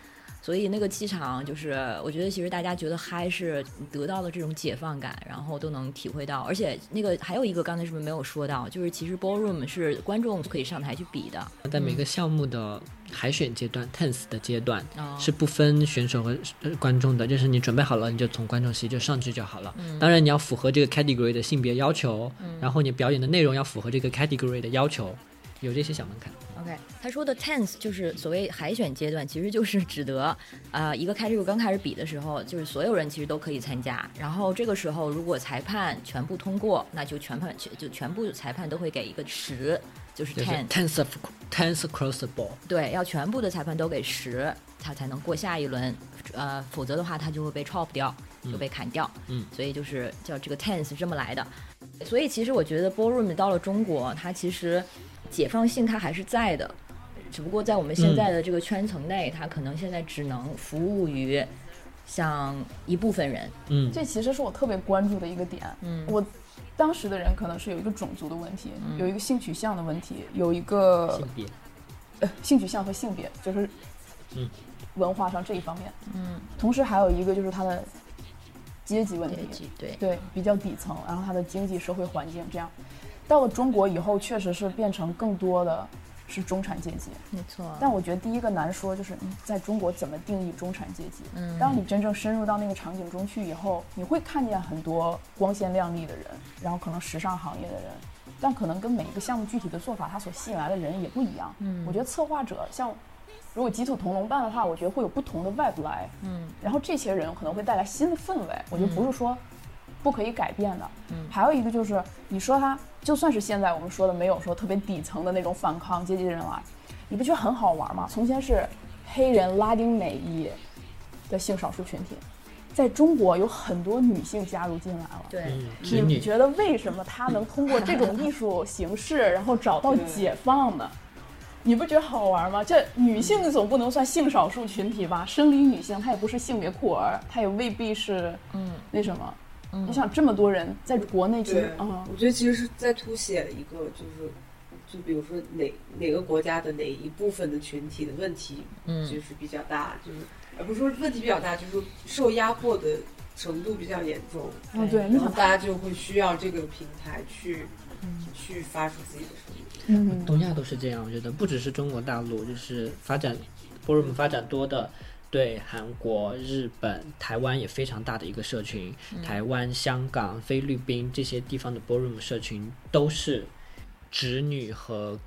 所以那个气场就是我觉得其实大家觉得嗨是得到了这种解放感，然后都能体会到。而且那个还有一个刚才是不是没有说到，就是其实 ballroom 是观众可以上台去比的， 在每个项目的海选阶段、嗯、tenth 的阶段、哦、是不分选手和观众的，就是你准备好了你就从观众席就上去就好了、嗯、当然你要符合这个 category 的性别要求、嗯、然后你表演的内容要符合这个 category 的要求，有这些小门槛。 OK， 他说的 tenth 就是所谓海选阶段，其实就是指得呃一个category刚开始比的时候，就是所有人其实都可以参加，然后这个时候如果裁判全部通过，那就全判就全部裁判都会给一个十，就是 ten tenth of tenth across the board， 对，要全部的裁判都给十，他才能过下一轮，呃，否则的话他就会被 chop 掉，就被砍掉， 嗯， 所以就是叫这个 tenth 这么来的。所以其实我觉得 ballroom 到了中国，它其实解放性它还是在的，只不过在我们现在的这个圈层内、嗯、它可能现在只能服务于像一部分人。 嗯， 这其实是我特别关注的一个点。嗯，我当时的人可能是有一个种族的问题、嗯、有一个性取向的问题，有一个性别呃性取向和性别，就是嗯文化上这一方面。 嗯， 同时还有一个就是它的阶级问题， 对对，比较底层，然后它的经济社会环境这样。到了中国以后，确实是变成更多的是中产阶级， 没错。 但我觉得第一个难说就是你在中国怎么定义中产阶级。 嗯， 当你真正深入到那个场景中去以后，你会看见很多光鲜亮丽的人，然后可能时尚行业的人，但可能跟每一个项目具体的做法，它所吸引来的人也不一样。 嗯， 我觉得策划者像如果鸡兔同笼办的话，我觉得会有不同的 vibe 来。 嗯，然后这些人可能会带来新的氛围，我觉得不是说不可以改变的。 嗯， 还有一个就是你说他就算是现在我们说的没有说特别底层的那种反抗阶级的人来，你不觉得很好玩吗？从前是黑人拉丁美裔的性少数群体，在中国有很多女性加入进来了。 对， 嗯、 你觉得为什么他能通过这种艺术形式然后找到解放呢？你不觉得好玩吗？这女性总不能算性少数群体吧？生理女性她也不是性别酷儿，她也未必是嗯那什么。嗯，你想这么多人在国内，其实嗯，我觉得其实是在凸显一个就是就比如说哪哪个国家的哪一部分的群体的问题，嗯，就是比较大，就是而不是说问题比较大，就是受压迫的程度比较严重。 嗯，对， 然后大家就会需要这个平台去、嗯、去发出自己的声音。 嗯，东亚都是这样，我觉得不只是中国大陆，就是发展 ballroom 发展多的，对韩国、日本、台湾也非常大的一个社群，嗯、台湾、香港、菲律宾这些地方的 ballroom 社群都是直女和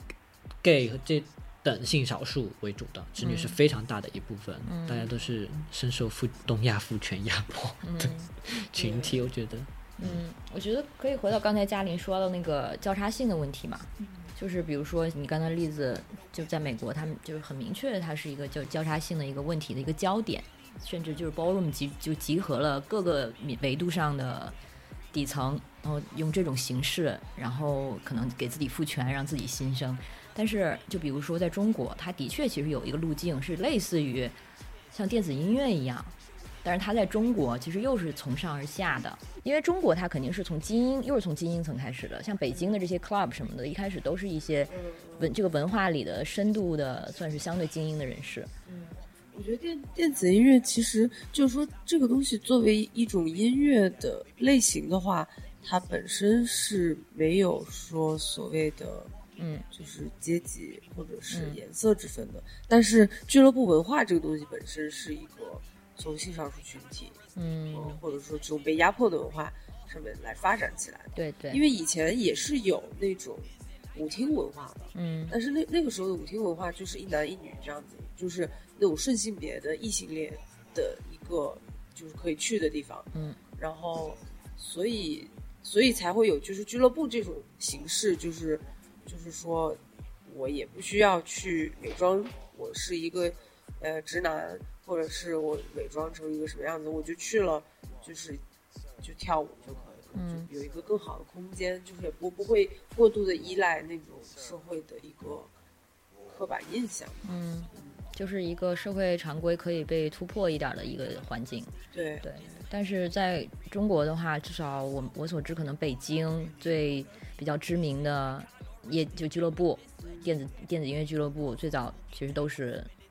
gay 和这等性少数为主的，直女是非常大的一部分，嗯、大家都是深受父东亚父权压迫的群体，嗯、我觉得。 嗯，我觉得可以回到刚才嘉玲说的那个交叉性的问题嘛，嗯、就是比如说你刚才例子，就在美国，他们就是很明确，它是一个就交叉性的一个问题的一个焦点，甚至就是 ballroom 集就集合了各个维度上的底层，然后用这种形式，然后可能给自己赋权，让自己新生。但是就比如说在中国，它的确其实有一个路径是类似于像电子音乐一样。但是它在中国其实又是从上而下的，因为中国它肯定是从精英，又是从精英层开始的，像北京的这些 club 什么的，一开始都是一些文这个文化里的深度的，算是相对精英的人士。 嗯，我觉得电电子音乐其实就是说这个东西作为一种音乐的类型的话，它本身是没有说所谓的嗯，就是阶级或者是颜色之分的，嗯、但是俱乐部文化这个东西本身是一个。从性少数群体，嗯、呃，或者说这种被压迫的文化上面来发展起来的， 对对， 因为以前也是有那种舞厅文化的， 嗯， 但是那那个时候的舞厅文化就是一男一女这样子，就是那种顺性别的异性恋的一个就是可以去的地方， 嗯， 然后所以所以才会有就是俱乐部这种形式，就是就是说我也不需要去伪装我是一个呃直男。或者是我伪装成一个什么样子，我就去了，就是就跳舞就可以了，嗯，就有一个更好的空间，就是也不不会过度的依赖那种社会的一个刻板印象， 嗯，就是一个社会常规可以被突破一点的一个环境， 对对。但是在中国的话，至少我我所知，可能北京最比较知名的业就俱乐部，电子电子音乐俱乐部，最早其实都是。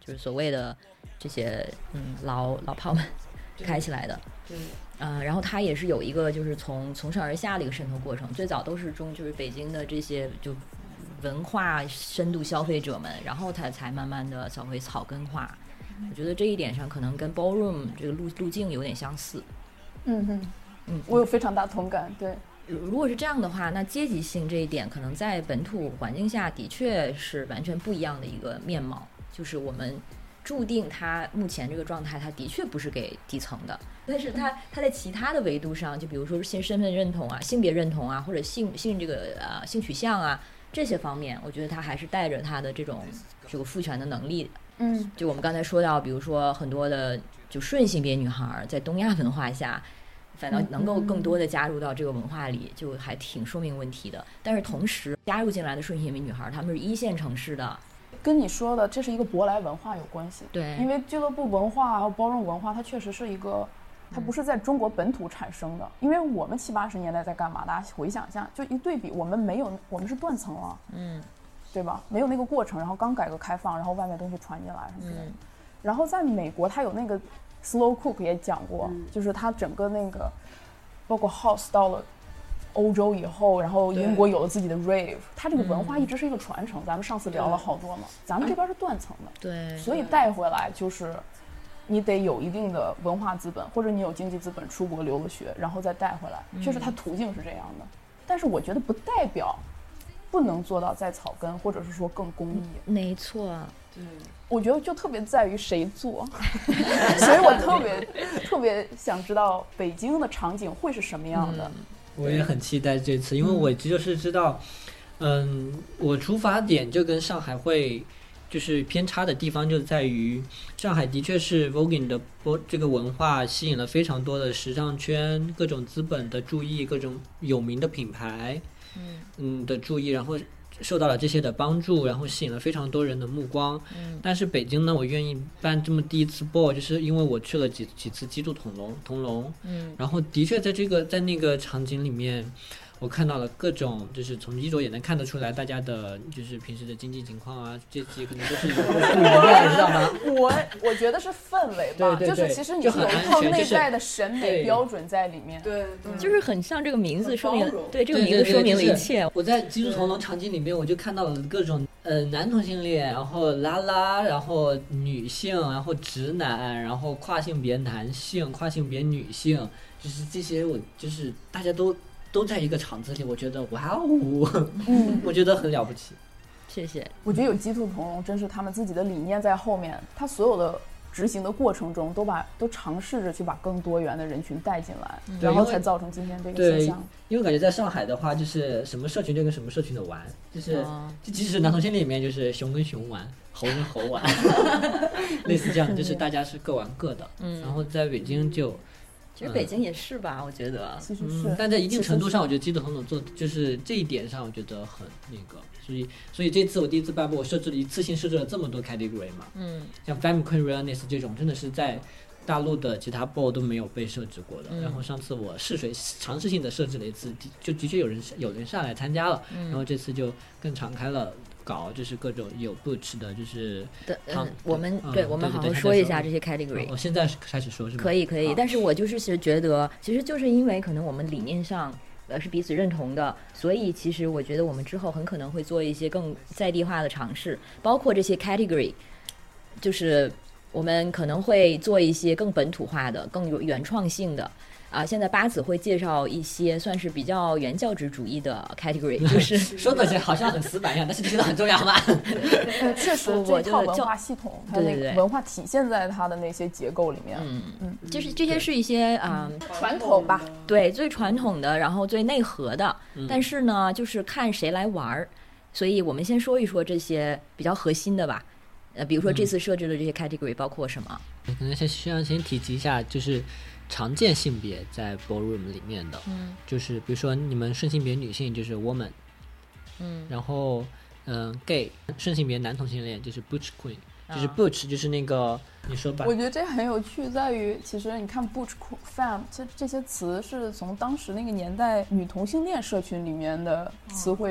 就是所谓的这些嗯老老炮们开起来的。 对， 嗯、呃，然后它也是有一个就是从从上而下的一个渗透过程，最早都是中就是北京的这些就文化深度消费者们，然后它才慢慢的稍微草根化。我觉得这一点上可能跟 ballroom 这个路路径有点相似。 嗯哼， 嗯， 我有非常大同感。对， 如果是这样的话，那阶级性这一点可能在本土环境下的确是完全不一样的一个面貌，就是我们注定它目前这个状态，它的确不是给底层的，但是它它在其他的维度上，就比如说性身份认同啊、性别认同啊，或者性性这个呃性取向啊这些方面，我觉得它还是带着它的这种这个赋权的能力。 嗯， 就我们刚才说到，比如说很多的就顺性别女孩在东亚文化下，反倒能够更多的加入到这个文化里，就还挺说明问题的。但是同时加入进来的顺性别女孩，她们是一线城市的。 跟你说的这是一个舶来文化有关系。 对， 因为俱乐部文化还有包容文化，它确实是一个，它不是在中国本土产生的。因为我们七八十年代在干嘛？大家回想一下，就一对比，我们没有，我们是断层了， 嗯， 对吧？没有那个过程，然后刚改革开放，然后外面东西传进来什么之类的。嗯、然后在美国，它有那个 Slow Cook 也讲过，嗯、就是它整个那个，包括 House 到了欧洲以后，然后英国有了自己的 rave， 它这个文化一直是一个传承。嗯、咱们上次聊了好多嘛，咱们这边是断层的， 对， 所以带回来就是你得有一定的文化资本，或者你有经济资本，出国留了学，然后再带回来，确实它途径是这样的。但是我觉得不代表不能做到在草根，或者是说更公益。 没错， 对， 我觉得就特别在于谁做，所以我特别特别想知道北京的场景会是什么样的。嗯， 我也很期待这次，因为我就是知道，嗯，我出发点就跟上海会就是偏差的地方就在于，上海的确是 voguing 的这个文化吸引了非常多的时尚圈、各种资本的注意、各种有名的品牌，嗯的注意，然后受到了这些的帮助，然后吸引了非常多人的目光。嗯，但是北京呢，我愿意办这么第一次 ball， 就是因为我去了几几次鸡兔同笼，同笼，嗯，然后的确在这个在那个场景里面，我看到了各种，就是从衣着也能看得出来，大家的就是平时的经济情况啊，阶级可能都是有不一样，你知道吗？ 我我觉得是氛围吧， 对对对， 就是其实你是有一套内在的审美标准在里面， 对， 嗯、就是很像这个名字说明，对这个名字说明了一切。 我在鸡兔同笼场景里面，我就看到了各种呃男同性恋，然后拉拉，然后女性，然后直男，然后跨性别男性、跨性别女性，就是这些，我就是大家都。都在一个场子里，我觉得哇哦，嗯，我觉得很了不起。 谢谢。 我觉得有鸡兔同笼，真是他们自己的理念在后面，他所有的执行的过程中，都把都尝试着去把更多元的人群带进来，嗯、然后才造成今天这个现象。 因为感觉在上海的话，就是什么社群就跟什么社群的玩，就是、哦、就即使男同性恋里面，就是熊跟熊玩，猴跟猴玩，类似这样，就是大家是各玩各的。嗯，然后在北京就。 其实北京也是吧，嗯、我觉得， 其实是、 嗯，但在一定程度上，我觉得鸡兔同笼做就是这一点上，我觉得很那个，所以，所以这次我第一次办布，我设置了一次性设置了这么多 category 嘛，嗯，像 femme queer realness 这种，真的是在大陆的其他 ball 都没有被设置过的。嗯、然后上次我试水尝试性的设置了一次，就的确有人有人上来参加了，嗯、然后这次就更敞开了。搞就是各种有 butch 的，就是的，嗯，我们、嗯、对，我们好好说一下这些 category。 我、哦、现在开始说是吗？ 可以，可以。但是我就是其实觉得，其实就是因为可能我们理念上呃是彼此认同的，所以其实我觉得我们之后很可能会做一些更在地化的尝试，包括这些 category， 就是我们可能会做一些更本土化的、更有原创性的。啊，现在八子会介绍一些算是比较原教旨主义的 category， 就是说的好像很死板一样，但是这个很重要嘛。 确实，这套文化系统，它那个文化体现在它的那些结构里面。 嗯嗯，就是这些是一些啊、 嗯、传统吧， 对，最传统的，然后最内核的。嗯、但是呢，就是看谁来玩儿，所以我们先说一说这些比较核心的吧。呃，比如说这次设置的这些 category 包括什么？ 嗯、可能先需要先提及一下，就是。常见性别在 ballroom 里面的，嗯，就是比如说你们顺性别女性就是 woman， 嗯，然后嗯、呃、gay 顺性别男同性恋就是 butch queen，、啊、就是 butch 就是那个你说吧。 我觉得这很有趣，在于其实你看 butch femme 这这些词是从当时那个年代女同性恋社群里面的词汇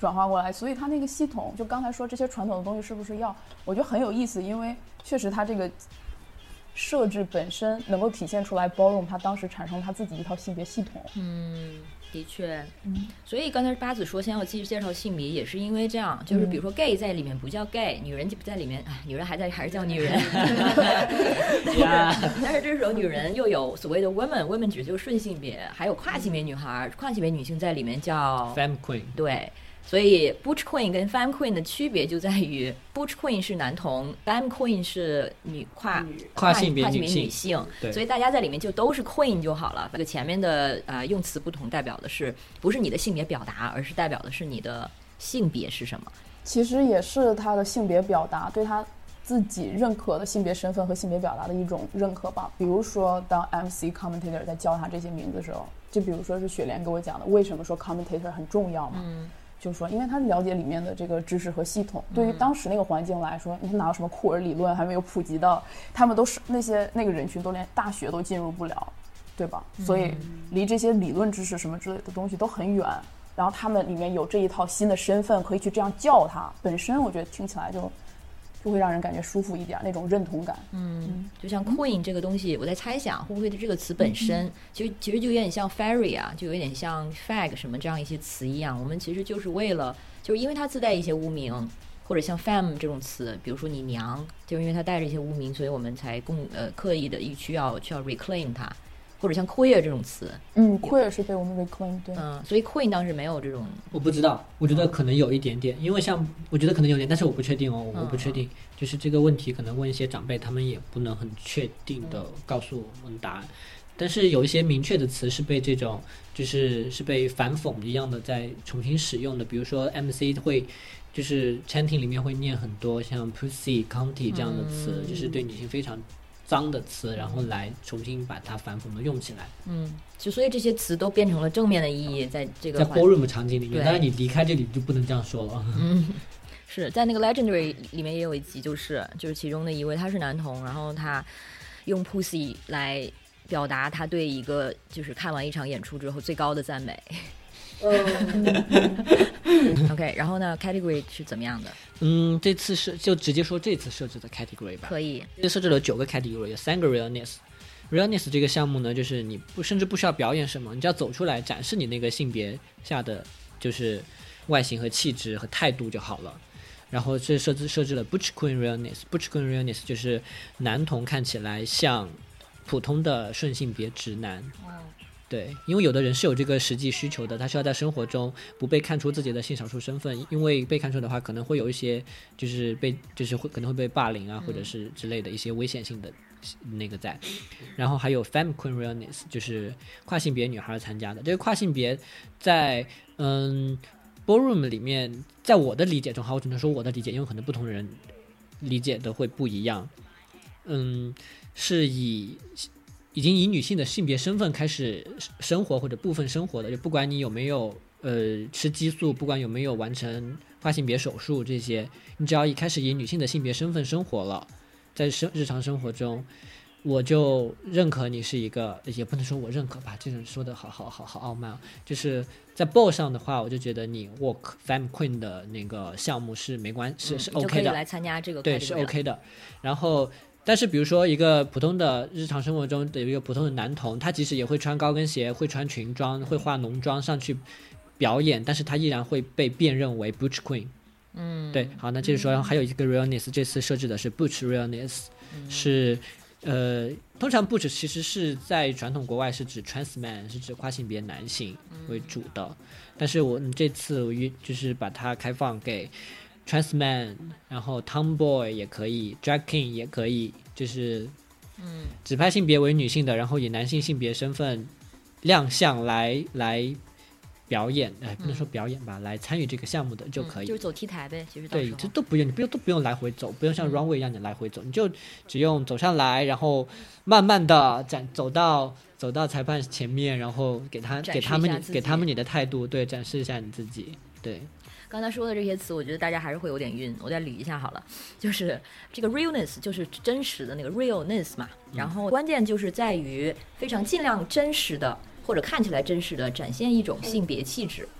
转化过来，所以它那个系统就刚才说这些传统的东西是不是要，我觉得很有意思，因为确实它这个设置本身能够体现出来 Ballroom 它当时产生它自己一套性别系统。 嗯，的确，嗯，所以刚才八子说先要继续介绍性别，也是因为这样，就是比如说 gay 在里面不叫 gay，、嗯、女人在里面，哎，女人还在还是叫女人，但是但是这时候女人又有所谓的 women，women 指就是顺性别，还有跨性别女孩、跨性别女性在里面叫 femme queen， 对。所以 Butch Queen 跟 Femme Queen 的区别就在于 Butch Queen 是男同 Femme Queen 是女跨跨性别女性，女性所以大家在里面就都是 Queen 就好了。这个前面的、呃、用词不同，代表的是不是你的性别表达，而是代表的是你的性别是什么。 其实也是他的性别表达对他自己认可的性别身份和性别表达的一种认可吧。比如说当 M C commentator 在教他这些名字的时候，就比如说是雪莲给我讲的为什么说 commentator 很重要嘛，嗯，就是说因为他了解里面的这个知识和系统，对于当时那个环境来说，你看哪有什么库尔理论还没有普及到，他们都是那些那个人群都连大学都进入不了，对吧？所以离这些理论知识什么之类的东西都很远，然后他们里面有这一套新的身份可以去这样叫他，本身我觉得听起来就就会让人感觉舒服一点，那种认同感。 嗯，就像 Queen 这个东西，我在猜想会不会这个词本身，其实其实就有点像 Fairy 啊，就有点像 Fag 什么这样一些词一样。我们其实就是为了，就是因为它自带一些污名，或者像 Femme 这种词，比如说你娘，就是因为它带着一些污名，所以我们才共呃刻意的需要需要 reclaim 它。或者像 queer 这种词， 嗯 queer 是被我们 reclaim， 对， 嗯，所以 queen 当时没有这种， 我不知道，我觉得可能有一点点，因为像我觉得可能有点，但是我不确定哦，我不确定，嗯、就是这个问题可能问一些长辈，他们也不能很确定的告诉我们答案。但是有一些明确的词是被这种就是是被反讽一样的在重新使用的，比如说 M C 会就是 chanting 里面会念很多像 pussy、cunty 这样的词，嗯、就是对女性非常脏的词，然后来重新把它反讽的用起来。 嗯，就所以这些词都变成了正面的意义，在这个在 ballroom 场景里面，当然你离开这里就不能这样说了。 嗯，是在那个 Legendary 里面也有一集，就是就是其中的一位他是男同，然后他用 pussy 来表达他对一个就是看完一场演出之后最高的赞美。OK， 然后呢 category 是怎么样的？ 嗯，这次是就直接说这次设置的 category 吧。 可以， 这设置了九个 category， 有三个 realness。realness 这个项目呢，就是你不甚至不需要表演什么，你只要走出来展示你那个性别下的就是外形和气质和态度就好了。然后这设置设置了 Butch Queen realness，Butch Queen realness 就是男同看起来像普通的顺性别直男。哦，对，因为有的人是有这个实际需求的，他需要在生活中不被看出自己的性少数身份，因为被看出的话可能会有一些就是被就是会可能会被霸凌啊，或者是之类的一些危险性的那个在。然后还有 Femme Queen realness， 就是跨性别女孩参加的。这个跨性别在嗯 ballroom 里面，在我的理解中，好，我只能说我的理解，因为可能不同的人理解的会不一样。嗯，是以已经以女性的性别身份开始生活或者部分生活的，就不管你有没有呃吃激素，不管有没有完成跨性别手术这些，你只要一开始以女性的性别身份生活了，在生日常生活中，我就认可你是一个，也不能说我认可吧，这种说的好好好好傲慢，就是在 ball 上的话，我就觉得你 walk Femme Queen 的那个项目是没关是、嗯、是 OK 的，就可以来参加这个， 对，是 OK 的。然后但是比如说一个普通的日常生活中的一个普通的男童，他即使也会穿高跟鞋，会穿裙装，会化浓妆上去表演，但是他依然会被辨认为 Butch Queen。 嗯，对，好，那接着说，然后还有一个 realness， 这次设置的是 Butch realness，嗯、是呃通常 Butch 其实是在传统国外是指 trans man， 是指跨性别男性为主的，嗯、但是我这次我就是把它开放给trans man， 然后 tomboy 也可以， drag king 也可以，就是嗯，指派性别为女性的，然后以男性性别身份亮相来来表演，哎，不能说表演吧，嗯、来参与这个项目的就可以， 嗯、就是走 T 台呗，其实对，这都不用，你不用都不用来回走，不用像 runway 一样你来回走，嗯、你就只用走上来，然后慢慢的展走到走到裁判前面，然后给他给他们给他们你的态度，对，展示一下你自己，对。 刚才说的这些词，我觉得大家还是会有点晕，我再捋一下好了。就是这个 realness 就是真实的那个 realness 嘛，然后关键就是在于非常尽量真实的或者看起来真实的展现一种性别气质。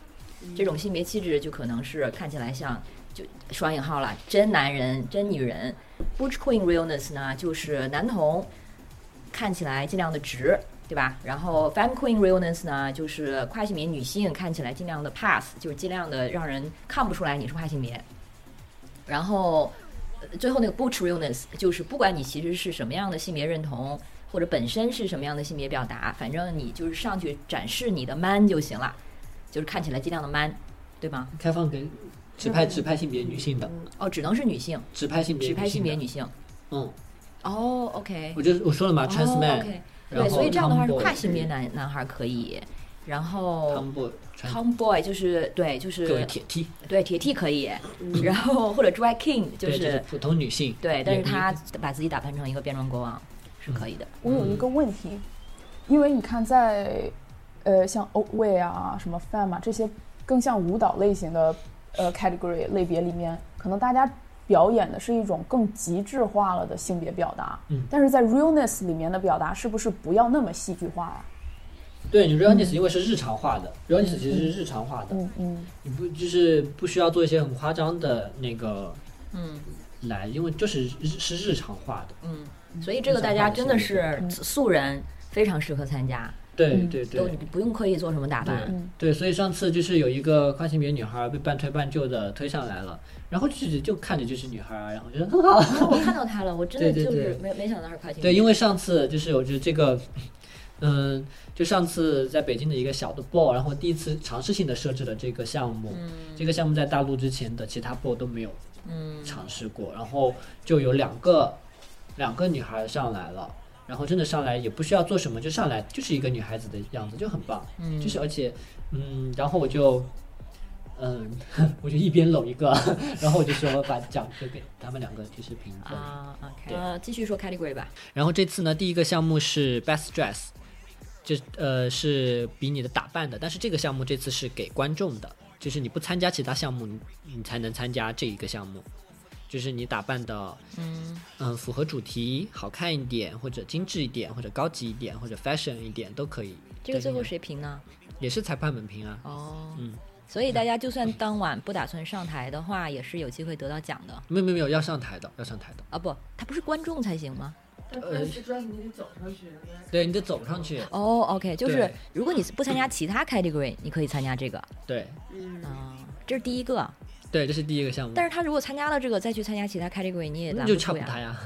这种性别气质就可能是看起来像就双引号了真男人真女人。 Butch Queen realness 呢就是男同看起来尽量的直，对吧？然后 Femme Queen realness 呢就是跨性别女性看起来尽量的 pass， 就是尽量的让人看不出来你是跨性别。然后最后那个 Butch realness 就是不管你其实是什么样的性别认同或者本身是什么样的性别表达，反正你就是上去展示你的 man 就行了，就是看起来尽量的 man， 对吗？ 开放给直拍直拍性别女性的。 哦，只能是女性。 直拍性别直拍性别女性。 嗯。 哦 ，OK。 我就我说了嘛 ，trans man。 OK。对，所以这样的话是跨性别男男孩可以，然后 tomboy。tomboy 就是对，就是铁 T。对， 铁 T 可以，然后或者 drag king 就是普通女性。 对，但是他把自己打扮成一个变装国王是可以的。 我有一个问题，因为你看在呃像 Outway 啊、什么 Femme 啊这些更像舞蹈类型的。呃 category 类别里面，可能大家表演的是一种更极致化了的性别表达， 嗯， 但是在 realness 里面的表达是不是不要那么戏剧化啊？ 对，你 realness 因为是日常化的、嗯、realness 其实是日常化的， 嗯嗯， 你不就是不需要做一些很夸张的那个， 嗯， 来，因为就是是日常化的， 嗯，所以这个大家真的是素人非常适合参加。 对对对， 都不用刻意做什么打扮。 对，对，所以上次就是有一个跨性别女孩被半推半就的推上来了，然后就就看着就是女孩，然后觉得很好。 我看到她了，我真的就是对对对没没想到她是跨性别。 对，因为上次就是我觉得这个，嗯，就上次在北京的一个小的 ball， 然后第一次尝试性的设置了这个项目， 嗯、 这个项目在大陆之前的其他 ball 都没有尝试过，然后就有两个两个女孩上来了。然后真的上来也不需要做什么，就上来就是一个女孩子的样子，就很棒。 嗯， 就是而且，嗯，然后我就，嗯，我就一边搂一个，然后我就说把奖就给他们两个就是评分。 啊 ，OK， 呃，继续说 category 吧。 然后这次呢，第一个项目是 best dress， 就呃是比你的打扮的，但是这个项目这次是给观众的，就是你不参加其他项目，你你才能参加这一个项目。就是你打扮的，嗯嗯、呃，符合主题，好看一点，或者精致一点，或者高级一点，或者 fashion 一点都可以。 这个最后谁评呢？ 也是裁判们评啊。 哦， 嗯， 所以大家就算当晚不打算上台的话，也是有机会得到奖的。 没有没有没有，要上台的，要上台的。 啊不，他不是观众才行吗？ 呃，是专你得走上去。 对，你得走上去。 哦 ，OK， 就是如果你不参加其他 category， 你可以参加这个。 对。 嗯啊，这是第一个。 对，这是第一个项目。 但是他如果参加了这个，再去参加其他 category， 你也拦不住呀。 那就差不他呀。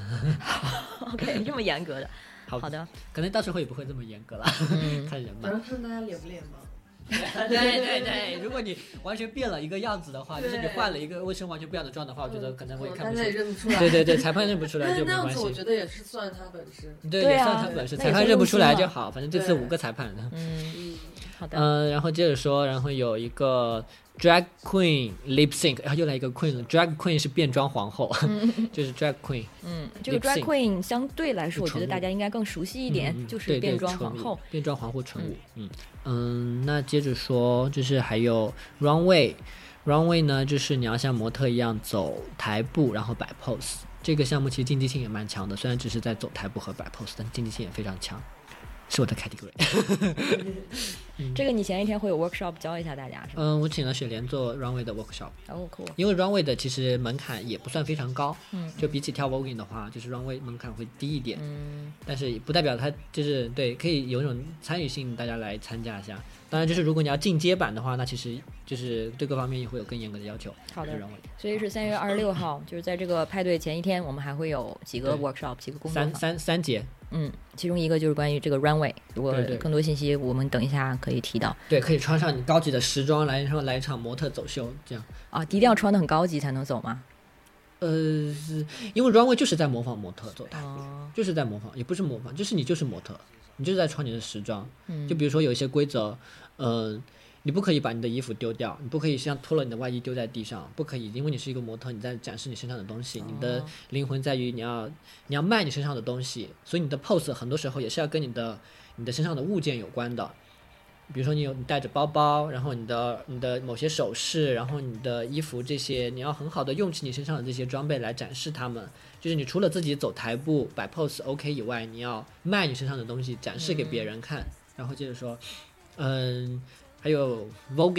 OK， 这么严格的。 好, 好的， 可能到时候也不会这么严格了，嗯、看人吧。 主要看大家脸不脸吧。 对对对，如果你完全变了一个样子的话，就是你换了一个卫生完全不一样的妆的话，我觉得可能会看不出来。 大家也认不出来。 对对对，裁判认不出来就没关系。 那样子我觉得也是算他本事。 对，也算他本事，裁判认不出来就好。反正这次五个裁判。 嗯嗯，好的。 嗯、呃，然后接着说，然后有一个 drag queen lip sync， 然后又来一个 queen 了。drag queen 是变装皇后，嗯、就是 drag queen。 嗯，这个 drag queen 相对来说，我觉得大家应该更熟悉一点， 嗯、 就是变装皇后。 变装皇后纯舞，嗯嗯，那接着说，就是还有 runway。runway 呢，就是你要像模特一样走台步，然后摆 pose。这个项目其实竞技性也蛮强的，虽然只是在走台步和摆 pose， 但竞技性也非常强。是我的 category。 嗯、这个你前一天会有 workshop 教一下大家是吗？ 嗯，我请了雪莲做 runway 的 workshop。 哦、cool。 因为 runway 的其实门槛也不算非常高， 嗯， 就比起跳 voguing 的话，就是 runway 门槛会低一点， 嗯， 但是不代表它就是对，可以有一种参与性，大家来参加一下。当然，就是如果你要进阶版的话，那其实就是对各方面也会有更严格的要求。 好的，所以是三月二十六号，就是在这个派对前一天，我们还会有几个 workshop， 几个工作坊， 三三三节。 嗯，其中一个就是关于这个 runway， 如果更多信息我们等一下可以提到。 对，可以穿上你高级的时装来，然后来一场模特走秀，这样啊，一定要穿得很高级才能走吗？ 呃，因为 runway 就是在模仿模特走台步， 哦， 就是在模仿，也不是模仿，就是你就是模特，你就是在穿你的时装。 嗯， 就比如说有一些规则，呃，你不可以把你的衣服丢掉，你不可以像脱了你的外衣丢在地上，不可以，因为你是一个模特，你在展示你身上的东西， 哦， 你的灵魂在于你要你要卖你身上的东西，所以你的 pose 很多时候也是要跟你的你的身上的物件有关的。比如说你有你带着包包，然后你的你的某些首饰，然后你的衣服这些，你要很好的用起你身上的这些装备来展示它们。就是你除了自己走台步摆 pose OK 以外，你要卖你身上的东西展示给别人看。嗯，然后接着说，嗯，还有 voguing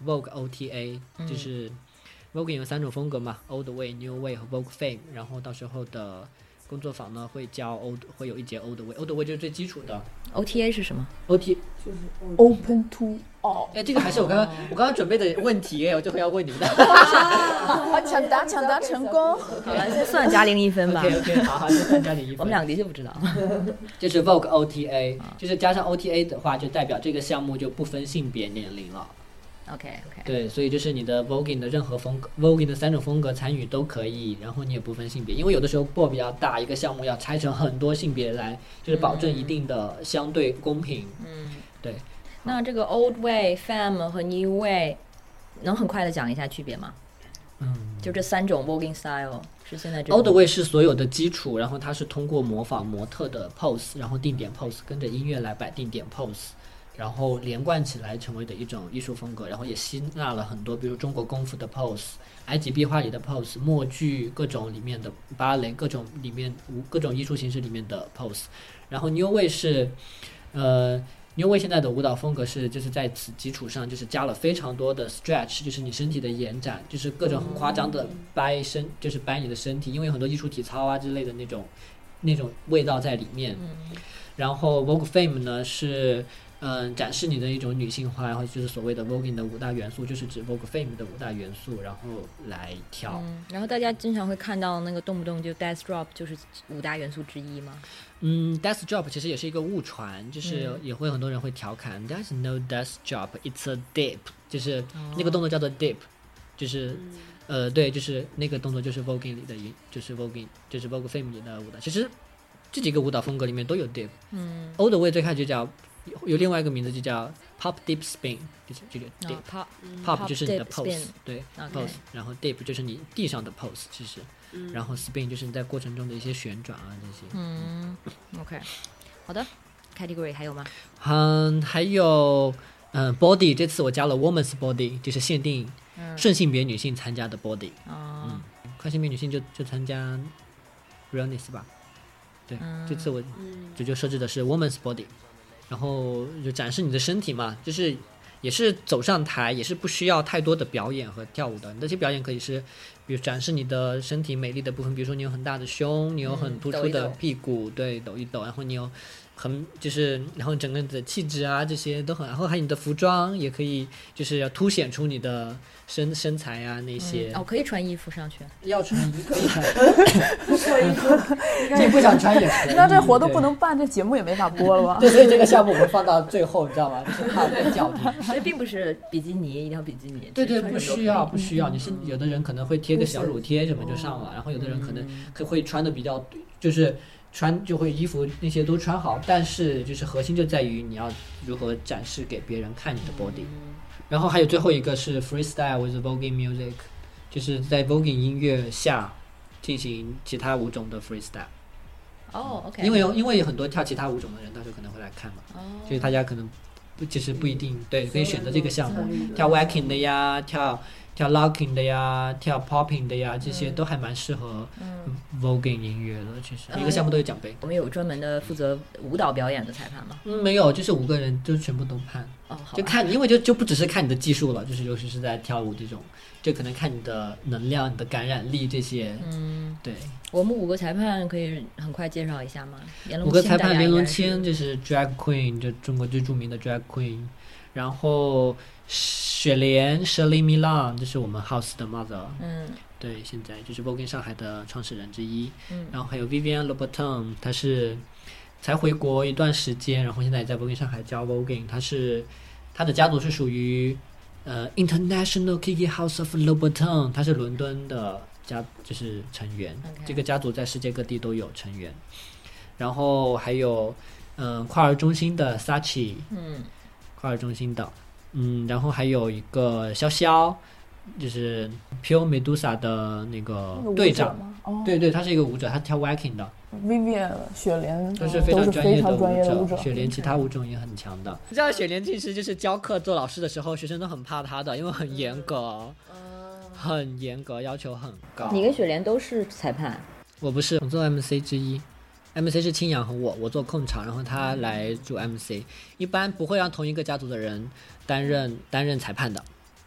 Vogue O T A，、嗯、就是 Vogue 有三种风格嘛 ，Old Way、New Way 和 Vogue Femme， 然后到时候的工作坊呢会教 Old， 会有一节 Old Way，Old Way 就是最基础的。 O T A 是什么 ？O T 就是 Open to All。 哎，这个还是我刚刚、哦、我刚刚准备的问题哎，我这回要问你们的。 啊，抢答抢答成功。 好了，先算嘉玲一分吧。 OK OK， 好好，就算嘉玲一分。 我们两个的确不知道。 就是 Vogue O T A，、哦、就是加上 O T A 的话，就代表这个项目就不分性别年龄了。 OK OK。 对，所以就是你的 Voguing 的任何风格 ，Voguing 的三种风格参与都可以，然后你也不分性别，因为有的时候 ball 比较大，一个项目要拆成很多性别来，就是保证一定的相对公平。嗯，对。 那这个 Old Way、Femme 和 New Way， 能很快的讲一下区别吗？嗯，就这三种 Voguing style 是现在这 Old Way 是所有的基础，然后它是通过模仿模特的 pose， 然后定点 pose， 跟着音乐来摆定点 pose。然后连贯起来成为的一种艺术风格，然后也吸纳了很多，比如中国功夫的 pose、埃及壁画里的 pose、默剧各种里面的芭蕾各种里面各种艺术形式里面的 pose。然后 New Way 是，呃 New Way 现在的舞蹈风格是就是在此基础上就是加了非常多的 stretch， 就是你身体的延展，就是各种很夸张的掰身，就是掰你的身体，因为有很多艺术体操啊之类的那种那种味道在里面。然后 Vogue Femme 呢是。嗯，展示你的一种女性化，然后就是所谓的 Voguing 的五大元素，就是指 Vogue Femme 的五大元素，然后来跳。 嗯，然后大家经常会看到那个动不动就 Death Drop， 就是五大元素之一吗？ 嗯 ，Death Drop 其实也是一个误传，就是也会很多人会调侃、嗯、，There's no Death Drop，it's a dip， 就是那个动作叫做 dip， 就是、嗯、呃，对，就是那个动作就是 Voguing 里的，就是 Voguing， 就是 Vogue Femme 里的舞蹈。其实这几个舞蹈风格里面都有 dip。嗯 ，Old Way 最开始就叫。有另外一个名字就叫 pop dip spin， 就是这个 dip、 oh, pop, pop 就是你的 pose， 对、 okay. pose， 然后 dip 就是你地上的 pose， 其实、嗯，然后 spin 就是你在过程中的一些旋转啊这些。 嗯 ，OK， 好的 ，category 还有吗？ 嗯，还有嗯 body， 这次我加了 woman's body， 就是限定顺性别女性参加的 body。哦、嗯，跨性别女性就就参加 realness 吧。对、嗯，这次我就就设置的是 woman's body。然后就展示你的身体嘛，就是也是走上台，也是不需要太多的表演和跳舞的。那些表演可以是，比如展示你的身体美丽的部分，比如说你有很大的胸，你有很突出的屁股，嗯、对，抖一抖，然后你有很就是，然后整个的气质啊这些都很，然后还有你的服装也可以，就是要凸显出你的身身材啊那些。 嗯、哦，可以穿衣服上去？ 要穿衣服可以穿，不穿衣服，这不想穿也可以。 那这活都不能办，这节目也没法播了吧？ 对，所以这个项目我们放到最后，你知道吗？就是怕被较劲。 所以并不是比基尼一定要比基尼。 对对，不需要不需要。你是有的人可能会贴个小乳贴什么就上了，然后有的人可能可会穿的比较就是。穿就会衣服那些都穿好，但是就是核心就在于你要如何展示给别人看你的 body。然后还有最后一个是 freestyle with voguing music， 就是在 voguing 音乐下进行其他舞种的 freestyle。 哦 ，OK。 因为因为有很多跳其他舞种的人，到时候可能会来看嘛，哦、所以大家可能不其实不一定对，可以选择这个项目，跳 wacking 的呀，跳。跳 locking 的呀，跳 popping 的呀，这些都还蛮适合 voguing 音乐的。其实、嗯、一个项目都有奖杯。 我们有专门的负责舞蹈表演的裁判吗？ 嗯，没有，就是五个人就全部都判。 哦，好。 就看，因为就就不只是看你的技术了，就是尤其是在跳舞这种，就可能看你的能量、你的感染力这些。嗯，对。 我们五个裁判可以很快介绍一下吗？ 五个裁判，连龙千就是 drag queen， 就中国最著名的 drag queen， 然后。雪莲 Shirley Milan 这是我们 House 的 mother， 嗯，对，现在就是 Voguing 上海的创始人之一，嗯，然后还有 Vivienne Louboutin， 她是才回国一段时间，然后现在也在 Voguing 上海教 Voguing， 她是她的家族是属于呃 International Kiki House of Louboutin， 她是伦敦的家就是成员， okay. 这个家族在世界各地都有成员，然后还有嗯、呃、跨儿中心的 Sachi， 嗯，跨儿中心的。嗯，然后还有一个潇潇，就是 Pure Medusa 的那个队长，那个哦、对对，他是一个舞者，他跳 wacking 的。 Vivian 雪莲都是非常专业的舞者， 雪莲其他舞种也很强的。你知道雪莲其实就是教课做老师的时候，学生都很怕他的，因为很严格，嗯、很严格，要求很高。 你跟雪莲都是裁判？ 我不是，我做 M C 之一。M C 是青阳和我，我做控场，然后他来主 M C。一般不会让同一个家族的人担任担任裁判的，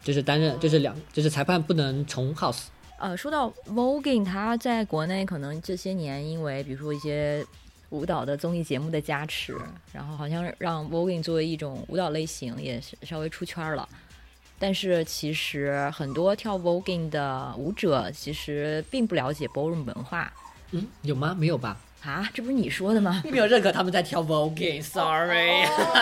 就是担任就是两就是裁判不能从 house。 呃，说到 voguing， 它在国内可能这些年因为比如说一些舞蹈的综艺节目的加持，然后好像让 voguing 作为一种舞蹈类型也是稍微出圈了。但是其实很多跳 voguing 的舞者其实并不了解 ballroom 文化。 嗯，有吗？没有吧？ 啊，这不是你说的吗？ 并没有认可他们在跳 voguing sorry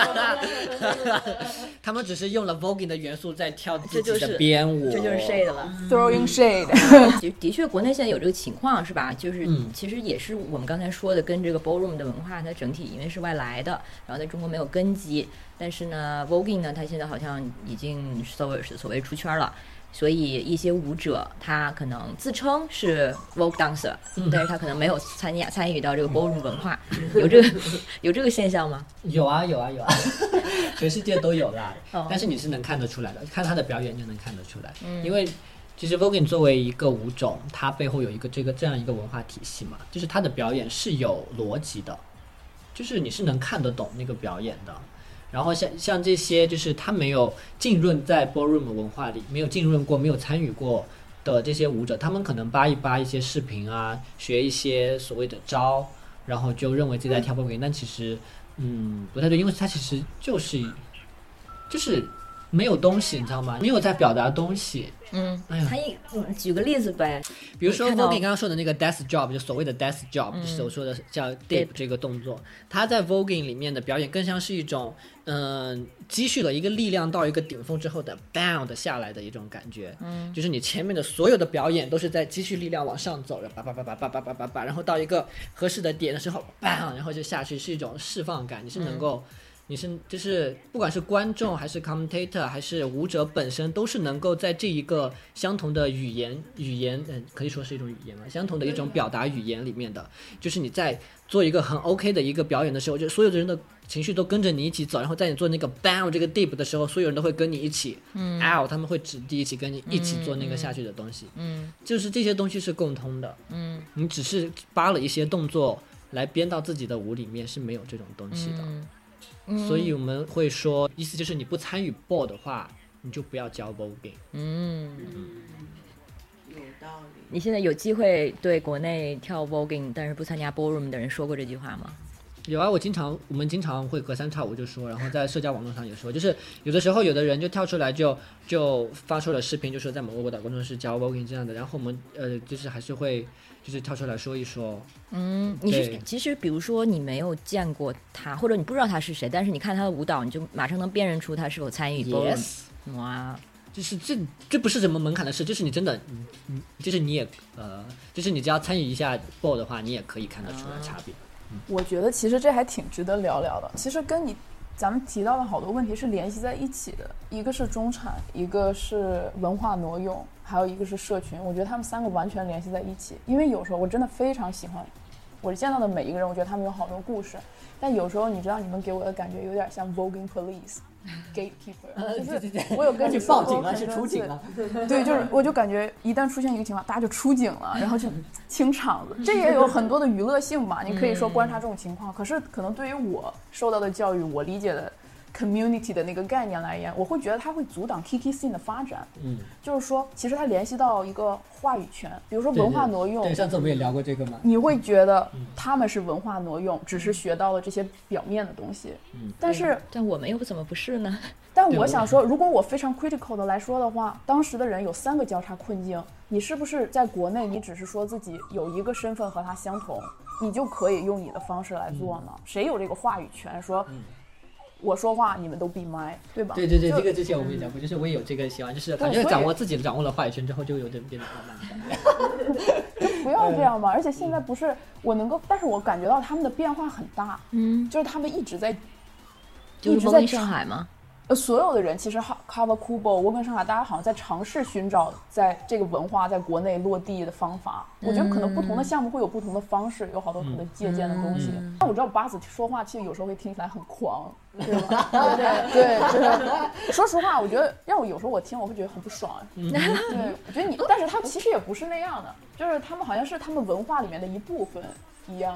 他们只是用了 voguing 的元素在跳自己的编舞， 这就是 shade 了 throwing shade 的, 的确国内现在有这个情况是吧，就是、 嗯、 其实也是我们刚才说的跟这个 ballroom 的文化它整体因为是外来的，然后在中国没有根基，但是呢 voguing 呢它现在好像已经所谓所谓出圈了，所以一些舞者他可能自称是 Vogue dancer、嗯、但是他可能没有参加参与到这个 ballroom 文化、嗯、有这个有这个现象吗？ 有啊有啊有啊全世界都有啦、哦、但是你是能看得出来的，看他的表演就能看得出来、嗯、因为其实 Voguing 作为一个舞种，它背后有一个这个这样一个文化体系嘛，就是它的表演是有逻辑的，就是你是能看得懂那个表演的。然后像像这些就是他没有浸润在 ballroom 文化里，没有浸润过，没有参与过的这些舞者，他们可能扒一扒一些视频啊，学一些所谓的招，然后就认为自己在跳 Voguing，但其实嗯不太对，因为他其实就是就是没有东西，你知道吗？没有在表达东西。 嗯，哎呀，嗯，举个例子呗， 比如说 Voguing 刚刚说的那个 death job， 就所谓的 death job，、嗯、就是我说的叫 dip 这个动作，它在 Voguing 里面的表演更像是一种，嗯、呃，积蓄了一个力量到一个顶峰之后的 bang 的下来的一种感觉，嗯，就是你前面的所有的表演都是在积蓄力量往上走，然后叭叭叭叭叭叭叭叭，然后到一个合适的点的时候 bang， 然后就下去，是一种释放感，你是能够。嗯你是就是不管是观众还是 commentator 还是舞者本身，都是能够在这一个相同的语言语言嗯、呃，可以说是一种语言嘛，相同的一种表达语言里面的，就是你在做一个很 OK 的一个表演的时候，就所有的人的情绪都跟着你一起走，然后在你做那个 bang 这个 dip 的时候，所有人都会跟你一起嗯 out， 他们会指地一起跟你一起做那个下去的东西，嗯，就是这些东西是共通的，嗯，你只是扒了一些动作来编到自己的舞里面是没有这种东西的。嗯嗯、所以我们会说，意思就是你不参与 ball 的话，你就不要教 voguing。嗯， 有道理。 你现在有机会对国内跳 voguing 但是不参加 ballroom 的人说过这句话吗？ 有啊，我经常我们经常会隔三差五就说，然后在社交网络上也说，就是有的时候有的人就跳出来就就发出了视频，就说在某个舞蹈工作室教 voguing 这样的，然后我们呃就是还是会。就是跳出来说一说， 嗯，你是其实比如说你没有见过他，或者你不知道他是谁，但是你看他的舞蹈，你就马上能辨认出他是否参与 ballroom。 Yes， 哇， 就是这这不是什么门槛的事，就是你真的，嗯，就是你也呃，就是你只要参与一下 ball 的话，你也可以看得出来差别。嗯、 我觉得其实这还挺值得聊聊的，其实跟你。咱们提到的好多问题是联系在一起的，一个是中产，一个是文化挪用，还有一个是社群，我觉得他们三个完全联系在一起。因为有时候我真的非常喜欢我见到的每一个人，我觉得他们有好多故事，但有时候你知道你们给我的感觉有点像 Voguing Police Gatekeeper， 就是我有跟你报警了，是出警了， 对，就是我就感觉一旦出现一个情况，大家就出警了，然后就清场子，这也有很多的娱乐性吧，你可以说观察这种情况，可是可能对于我受到的教育，我理解的 community 的那个概念来言，我会觉得它会阻挡 Kiki scene 的发展。嗯，就是说其实它联系到一个话语权，比如说文化挪用。 对， 对， 对，上次我们也聊过这个嘛。 你会觉得他们是文化挪用，只是学到了这些表面的东西。嗯，但是但我们又怎么不是呢？ 但我想说，如果我非常 critical 的来说的话，当时的人有三个交叉困境，你是不是在国内你只是说自己有一个身份和他相同，你就可以用你的方式来做呢？嗯、谁有这个话语权说？嗯，我说话你们都闭麦，对吧？ 对对对，这个之前我们也讲过，就是我也有这个喜欢，就是感觉掌握自己掌握了话语权之后，就有点变得慢慢的。 就不要这样嘛！而且现在不是我能够，但是我感觉到他们的变化很大，嗯，就是他们一直在， 就是Vogue in上海吗？ 呃，所有的人其实 Kawakubo、Vogue in上海，大家好像在尝试寻找在这个文化在国内落地的方法。嗯、我觉得可能不同的项目会有不同的方式，有好多可能借鉴的东西。嗯、但我知道巴子说话其实有时候会听起来很狂，对吧？对对，就是说实话，我觉得让我有时候我听我会觉得很不爽。嗯、对，我觉得你，但是他其实也不是那样的，就是他们好像是他们文化里面的一部分一样。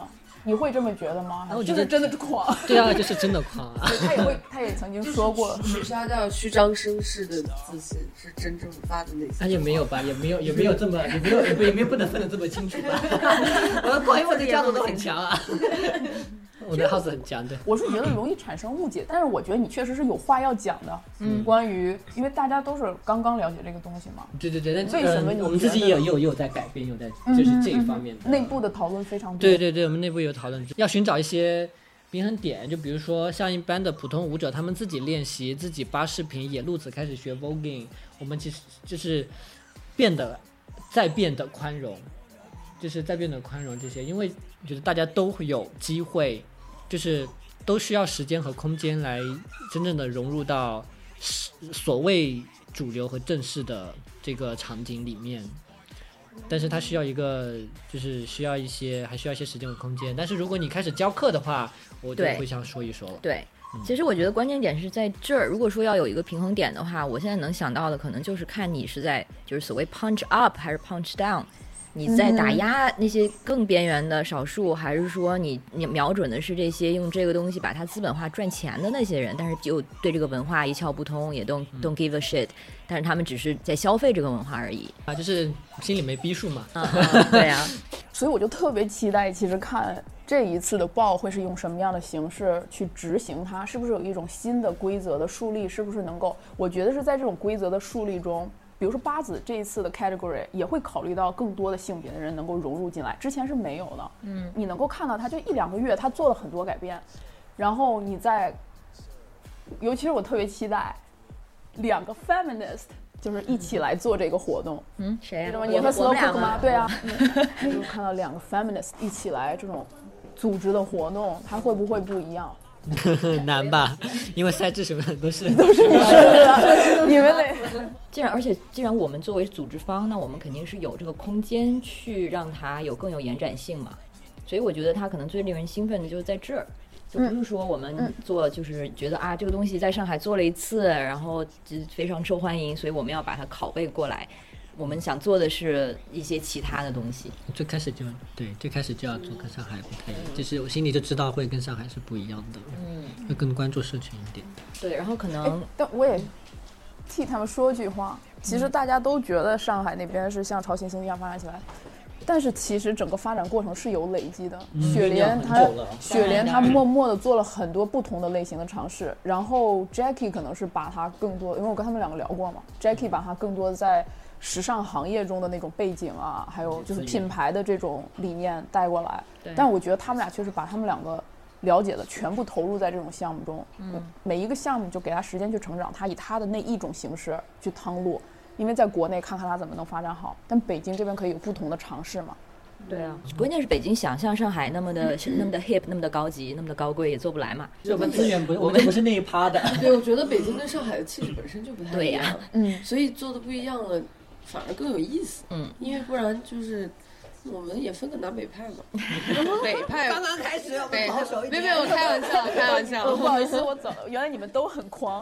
你会这么觉得吗？ 我觉得就是真的狂。 对啊，就是真的狂啊。 他也会，他也曾经说过， 许下掉虚张声势的自信是真正发自内心。 他也没有吧，也没有，也没有这么，也没有，也没有，也没有不能分得这么清楚吧。我的朋友们的家族都很强啊。我的 house 很强，对。 我是觉得容易产生误解，但是我觉得你确实是有话要讲的。嗯，关于，因为大家都是刚刚了解这个东西嘛。 对对对，但为什么你、 呃、我们自己也有也有也有在改变，有在就是这一方面的、 嗯、内部的讨论非常多。 对对对，我们内部有讨论，要寻找一些平衡点，就比如说像一般的普通舞者，他们自己练习，自己扒视频，野路子开始学 voguing， 我们其实就是变得再变得宽容，就是再变得宽容这些，因为觉得大家都会有机会。就是都需要时间和空间来真正的融入到所谓主流和正式的这个场景里面，但是它需要一个就是需要一些还需要一些时间和空间。但是如果你开始教课的话，我就会想说一说了。 对，嗯、其实我觉得关键点是在这儿。如果说要有一个平衡点的话，我现在能想到的可能就是看你是在就是所谓 punch up 还是 punch down。你在打压那些更边缘的少数，还是说你你瞄准的是这些用这个东西把它资本化赚钱的那些人，但是就对这个文化一窍不通，也 don't don't give a shit， 但是他们只是在消费这个文化而已啊，就是心里没逼数嘛。 啊啊对啊， 所以我就特别期待，其实看这一次的报会是用什么样的形式去执行它，是不是有一种新的规则的树立，是不是能够，我觉得是在这种规则的树立中。比如说八子这一次的 category 也会考虑到更多的性别的人能够融入进来，之前是没有的。嗯，你能够看到他就一两个月，他做了很多改变，然后你在，尤其是我特别期待两个 feminist 就是一起来做这个活动。 嗯，谁呀、啊？ 你和 slow cook 吗？对啊，嗯、就看到两个 feminist 一起来这种组织的活动，它会不会不一样？ 难吧，因为赛制什么的都是都是女生的，你们得。 既然而且既然我们作为组织方，那我们肯定是有这个空间去让它有更有延展性嘛。所以我觉得它可能最令人兴奋的就是在这儿，就不是说我们做就是觉得啊这个东西在上海做了一次，然后非常受欢迎，所以我们要把它拷贝过来。我们想做的是一些其他的东西。 最开始就对，最开始就要做跟上海不太一样，就是我心里就知道会跟上海是不一样的，嗯，会更关注社群一点。 对，然后可能， 但我也替他们说句话，其实大家都觉得上海那边是像朝鲜星一样发展起来，但是其实整个发展过程是有累积的。嗯、雪莲她，雪莲她默默的做了很多不同的类型的尝试，然后 Jackie 可能是把她更多，因为我跟他们两个聊过嘛 ，Jackie 把她更多在时尚行业中的那种背景啊，还有就是品牌的这种理念带过来。但我觉得他们俩确实把他们两个了解的全部投入在这种项目中，嗯，每一个项目就给他时间去成长，他以他的那一种形式去趟路。因为在国内看看他怎么能发展好，但北京这边可以有不同的尝试嘛。 对啊，关键是北京想像上海那么的、嗯、那么的 hip， 那么的高级，那么的高贵也做不来嘛。 我们资源不是我们不是那一趴的。 对，我觉得北京跟上海的气质本身就不太一样。 对呀、啊， 嗯，所以做的不一样了，反而更有意思。嗯，因为不然就是我们也分个南北派嘛。北派刚刚开始，我们保守一点。 没有，没有，开玩笑，开玩笑。 不好意思，我走了。原来你们都很狂。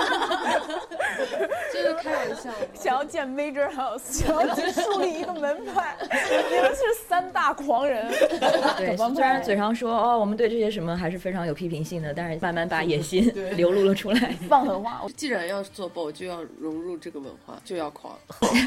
就是开玩笑。 想要建 major house， 想要去树立一个门派，你们是三大狂人。 对，虽然嘴上说哦，我们对这些什么还是非常有批评性的，但是慢慢把野心流露了出来， 放狠话。 既然要做 B O， 就要融入这个文化，就要狂。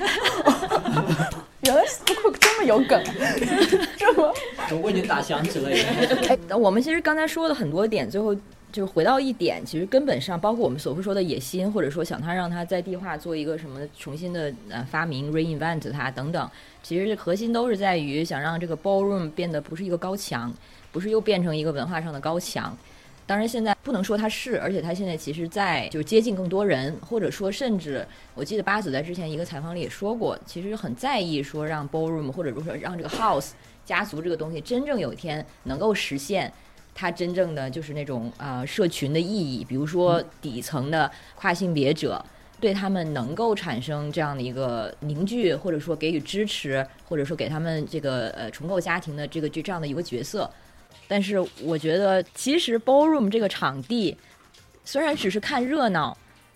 原来 so cook 这么有梗，这么我已经打响指了。 哎，我们其实刚才说了很多点，最后就是回到一点，其实根本上包括我们所说的野心，或者说想它让它在地化做一个什么重新的呃发明 reinvent 它等等，其实核心都是在于想让这个 ballroom 变得不是一个高墙，不是又变成一个文化上的高墙。当然现在不能说它是，而且它现在其实在就是接近更多人，或者说甚至我记得八子在之前一个采访里也说过，其实很在意说让 ballroom 或者说让这个 house 家族这个东西真正有一天能够实现它真正的就是那种呃社群的意义，比如说底层的跨性别者对他们能够产生这样的一个凝聚，或者说给予支持，或者说给他们这个呃重构家庭的这个这样的一个角色。但是我觉得其实 ballroom 这个场地虽然只是看热闹，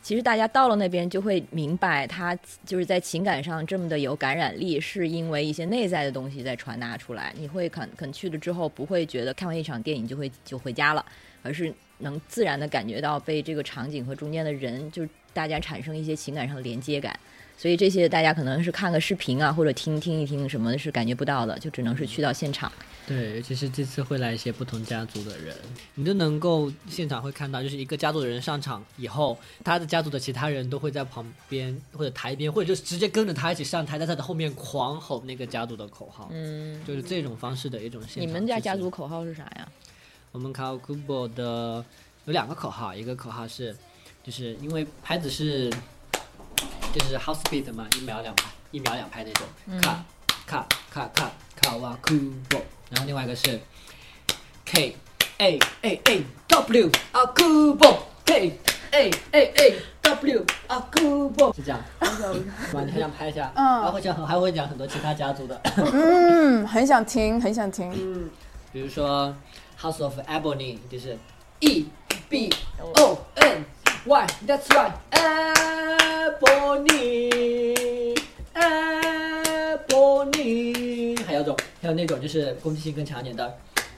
其实大家到了那边就会明白，他就是在情感上这么的有感染力，是因为一些内在的东西在传达出来。你会肯肯去了之后，不会觉得看完一场电影就会就回家了，而是能自然的感觉到被这个场景和中间的人，就是大家产生一些情感上的连接感。所以这些大家可能是看个视频啊，或者听听一听什么是感觉不到的，就只能是去到现场。 对，尤其是这次会来一些不同家族的人，你就能够现场会看到，就是一个家族的人上场以后，他的家族的其他人都会在旁边或者台边，或者就是直接跟着他一起上台，在他的后面狂吼那个家族的口号。嗯，就是这种方式的一种现场。 你们家家族口号是啥呀？ 我们 Kawakubo 的有两个口号，一个口号是，就是因为拍子是就是 house beat 嘛，一秒两拍，一秒两拍那种，卡卡卡卡 Kawakubo。然后另外一个是 K A A A W Akubo K A A A W Akubo 是这样，哇，你还想拍一下？嗯，还会讲还会讲很多其他家族的。 嗯，很想听，很想听。 嗯，比如说 House of Ebony 就是 E B O N Y That's right Ebony Ebony， 还有种还有那种就是攻击性更强一点的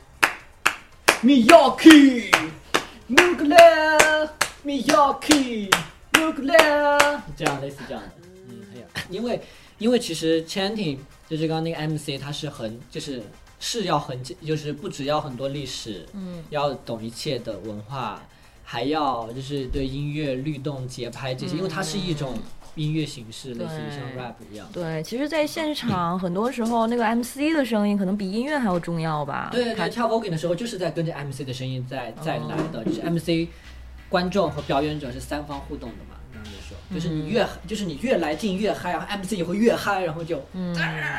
Miyaki Nuclear Miyaki Nuclear， 这样类似这样的。嗯，还有因为因为其实 chanting 就是刚刚那个 M C 它是很就是是要很就是不只要很多历史，嗯，要懂一切的文化，还要就是对音乐律动节拍这些，因为它是一种音乐形式，类似于像 rap 一样。 对，其实在现场很多时候那个 M C 的声音可能比音乐还要重要吧。 对，他跳 voguing 的时候就是在跟着 M C 的声音在在来的，哦，就是 M C 观众和表演者是三方互动的嘛，这样就说，就是你越、嗯、就是你越来劲越嗨，然后 M C 也会越嗨，然后就。嗯。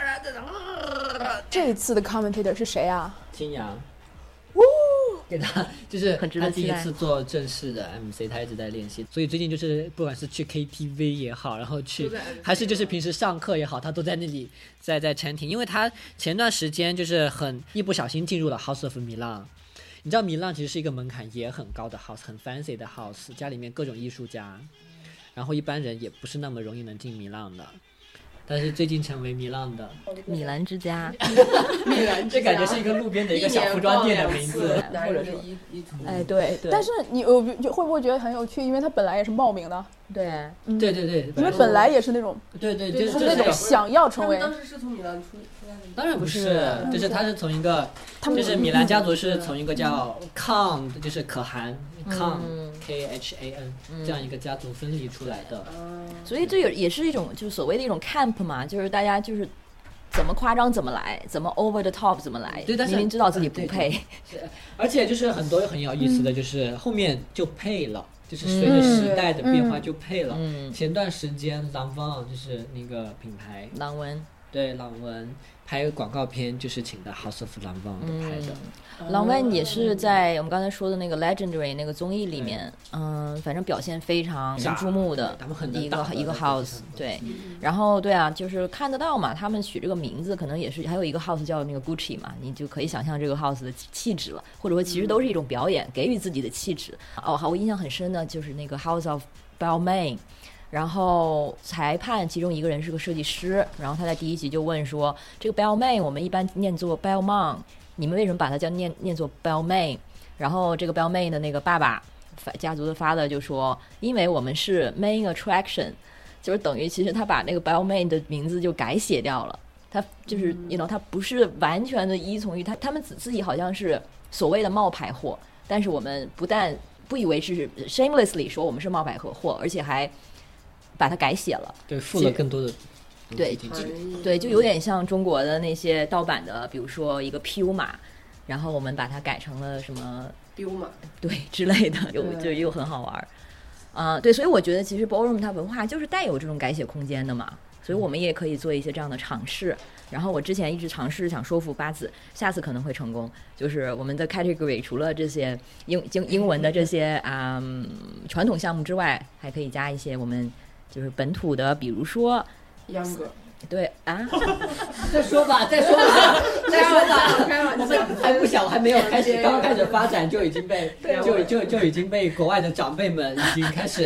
这一次的 commentator 是谁啊？ 金阳。给他就是他第一次做正式的 M C， 他一直在练习，所以最近就是不管是去 K T V 也好，然后去还是就是平时上课也好，他都在那里在在 chanting， 因为他前段时间就是很一不小心进入了 House of Milan。你知道米兰其实是一个门槛也很高的 house， 很 fancy 的 house， 家里面各种艺术家，然后一般人也不是那么容易能进米兰的。但是最近成为米兰的米兰之家， 米兰这感觉是一个路边的一个小服装店的名字， 或者是一一图。 哎，对对。 但是你呃会不会觉得很有趣？因为它本来也是冒名的。 对， 嗯、 对对对。 因为本来也是那种， 对对， 就是那种想要成为。 他们当时是从米兰出出来的。 当然不是，就是他是从一个，就是米兰家族是从一个叫 Khan， 就是可汗 Khan。K H A N 这样一个家族分离出来的， 嗯、所以这也也是一种就是所谓的一种 camp 嘛，就是大家就是怎么夸张怎么来，怎么 over the top 怎么来， 对，但是明明知道自己不配， 对对对，而且就是很多很有意思的，就是后面就配了，嗯、就是随着时代的变化就配了。嗯、前段时间朗文就是那个品牌， 朗文对朗文拍广告片就是请的 House of 朗文的拍的。 朗文也是在我们刚才说的那个 Legendary 那个综艺里面，嗯，反正表现非常注目的一个一个 house， 对，然后对啊，就是看得到嘛，他们取这个名字可能也是还有一个 house 叫那个 Gucci 嘛，你就可以想象这个 house 的气质了，或者说其实都是一种表演，给予自己的气质。哦，好，我印象很深的就是那个 House of Balmain。然后裁判其中一个人是个设计师，然后他在第一集就问说，这个 Balmain 我们一般念作 Balmain， 你们为什么把它叫念念作 Balmain？ 然后这个 Balmain 的那个爸爸家族的 father 就说，因为我们是 main attraction， 就是等于其实他把那个 Balmain 的名字就改写掉了，他就是 you know 他不是完全的依从于他，他们自己好像是所谓的冒牌货，但是我们不但不以为是 shamelessly 说我们是冒牌货，而且还把它改写了， 对，附了更多的对对，就有点像中国的那些盗版的，比如说一个 P U 码，然后我们把它改成了什么 P U 码， 对之类的，又就又很好玩啊、呃。对，所以我觉得其实 ballroom 它文化就是带有这种改写空间的嘛，所以我们也可以做一些这样的尝试。然后我之前一直尝试想说服八子，下次可能会成功。就是我们的 category 除了这些英英英文的这些啊、嗯、传统项目之外，还可以加一些我们。就是本土的，比如说秧歌， 对啊， 再说吧，再说吧，再说吧，我们还不小，还没有开始，刚刚开始发展就已经被就就就已经被国外的长辈们已经开始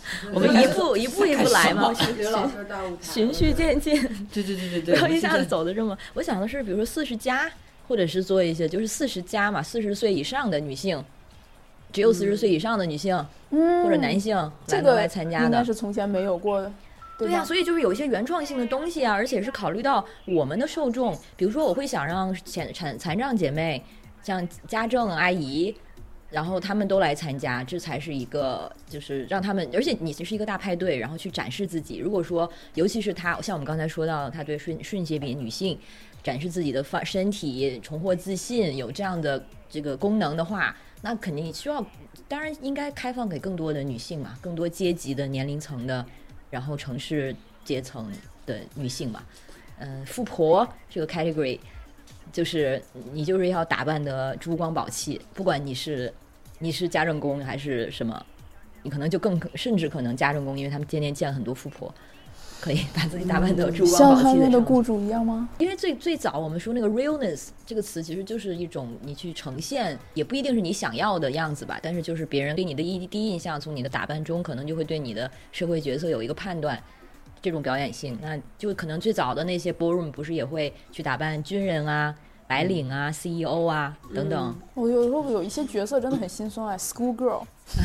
我们一步一步一步来嘛， 刘老师大舞台， 循序渐进。 对对对对对， 不要一下子走的这么。我想的是，比如说四十加，或者是做一些就是四十加嘛，四十岁以上的女性，只有四十岁以上的女性、嗯、或者男性来能来参加的， 应该是从前没有过的。 对呀、啊，所以就是有一些原创性的东西啊，而且是考虑到我们的受众。比如说，我会想让残残残障姐妹，像家政阿姨，然后他们都来参加，这才是一个就是让他们，而且你是一个大派对，然后去展示自己。如果说，尤其是他，像我们刚才说到，他对顺顺性别女性展示自己的身体，重获自信，有这样的这个功能的话，那肯定需要，当然应该开放给更多的女性嘛，更多阶级的年龄层的。然后城市阶层的女性嘛，嗯、呃，富婆这个 category， 就是你就是要打扮的珠光宝气，不管你是你是家政工还是什么，你可能就更甚至可能家政工，因为他们天天见很多富婆，可以把自己打扮的珠光宝气的。 像他们的雇主一样吗？ 因为最最早我们说那个 realness 这个词，其实就是一种你去呈现，也不一定是你想要的样子吧，但是就是别人对你的一第一印象，从你的打扮中，可能就会对你的社会角色有一个判断。这种表演性，那就可能最早的那些 ballroom 不是也会去打扮军人啊、白领啊、C E O 啊等等。 我有时候有一些角色真的很心酸哎 ，school girl。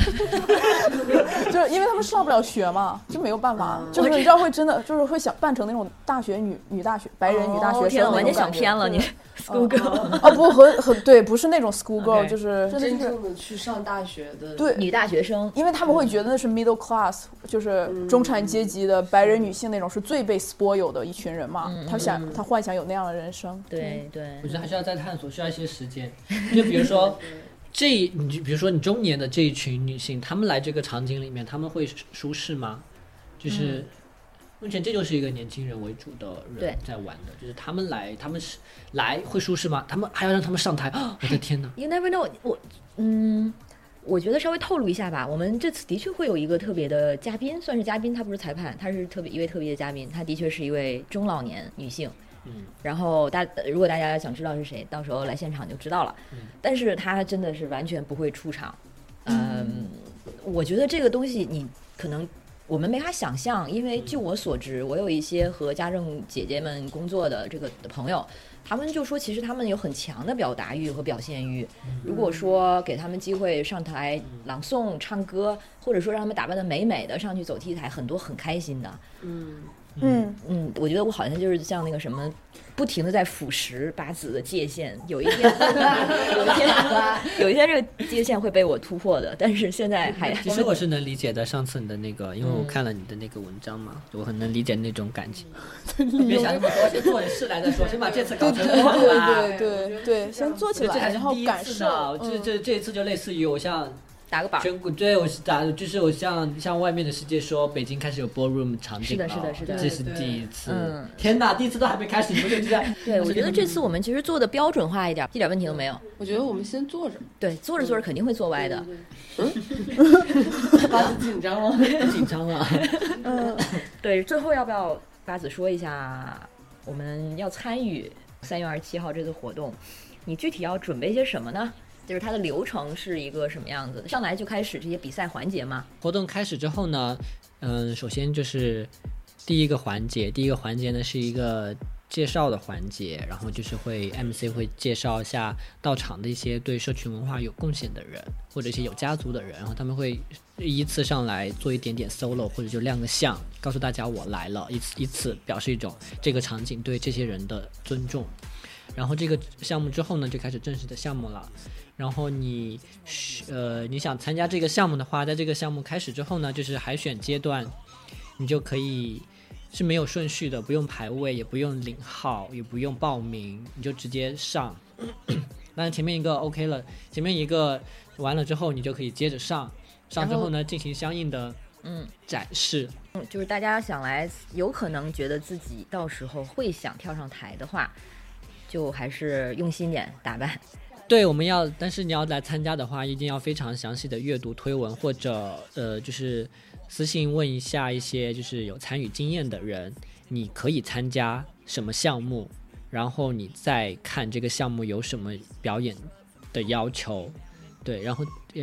就是因为他们上不了学嘛，就没有办法，嗯、就是你知道会真的就是会想扮成那种大学女女大学白人女大学生、哦， 完全想偏了你 school girl 啊、哦、不很很对，不是那种 school girl，、okay. 就是真正的去上大学的对女大学生， 因为他们会觉得那是 middle class， 就是中产阶级的白人女性那种是最被 spoil 的一群人嘛，嗯、他想、嗯、他幻想有那样的人生， 对对， 我觉得还是要再探索，需要一些时间，就比如说。这你比如说你中年的这一群女性，她们来这个场景里面，她们会舒适吗？就是目前这就是一个年轻人为主的人在玩的，就是他们来，他们是来会舒适吗？他们还要让他们上台啊！我的天哪 ！You never know， 我嗯，我觉得稍微透露一下吧。我们这次的确会有一个特别的嘉宾，算是嘉宾，他不是裁判，他是特别一位特别的嘉宾，他的确是一位中老年女性。嗯，然后大如果大家想知道是谁，到时候来现场就知道了。嗯，但是他真的是完全不会出场。嗯，嗯我觉得这个东西你可能我们没法想象，因为据我所知，我有一些和家政姐姐们工作的这个的朋友，他们就说其实他们有很强的表达欲和表现欲。如果说给他们机会上台朗诵、唱歌，或者说让他们打扮得美美的上去走 T 台，很多很开心的。嗯。嗯嗯，我觉得我好像就是像那个什么，不停的在腐蚀八字的界限。有一天，有一天，有一天这个界限会被我突破的。但是现在还， 其实我是能理解的。上次你的那个，因为我看了你的那个文章嘛，嗯、我很能理解那种感情。别想那么多，先做点事来再说，先把这次搞成功吧。 对对对对对，先做起来，然后感受。 这这这一次就类似于我像。 打个榜， 全国对我是打，就是我像像外面的世界说，北京开始有 ballroom 场景了， 是的，是的，是的， 这是第一次。嗯，天哪，第一次都还没开始，你们就知道。 对，我觉得这次我们其实做的标准化一点，一点问题都没有。 我觉得我们先坐着， 对，坐着坐着肯定会坐歪的。 嗯，八子紧张了， 紧张了。 嗯，对，最后要不要八子说一下，我们要参与三月二十七号这次活动，你具体要准备些什么呢？就是它的流程是一个什么样子的？上来就开始这些比赛环节吗？ 活动开始之后呢，嗯，首先就是第一个环节，第一个环节呢是一个介绍的环节，然后就是会 M C 会介绍一下到场的一些对社群文化有贡献的人，或者一些有家族的人，然后他们会依次上来做一点点 solo， 或者就亮个相，告诉大家我来了，以此以此表示一种这个场景对这些人的尊重。然后这个项目之后呢，就开始正式的项目了。然后你呃你想参加这个项目的话，在这个项目开始之后呢，就是海选阶段，你就可以是没有顺序的，不用排位，也不用领号，也不用报名，你就直接上。当然前面一个 OK 了，前面一个完了之后，你就可以接着上，上之后呢进行相应的嗯展示。 嗯，就是大家想来，有可能觉得自己到时候会想跳上台的话，就还是用心点打扮。 对，我们要，但是你要来参加的话，一定要非常详细的阅读推文，或者呃，就是私信问一下一些就是有参与经验的人，你可以参加什么项目，然后你再看这个项目有什么表演的要求，对，然后要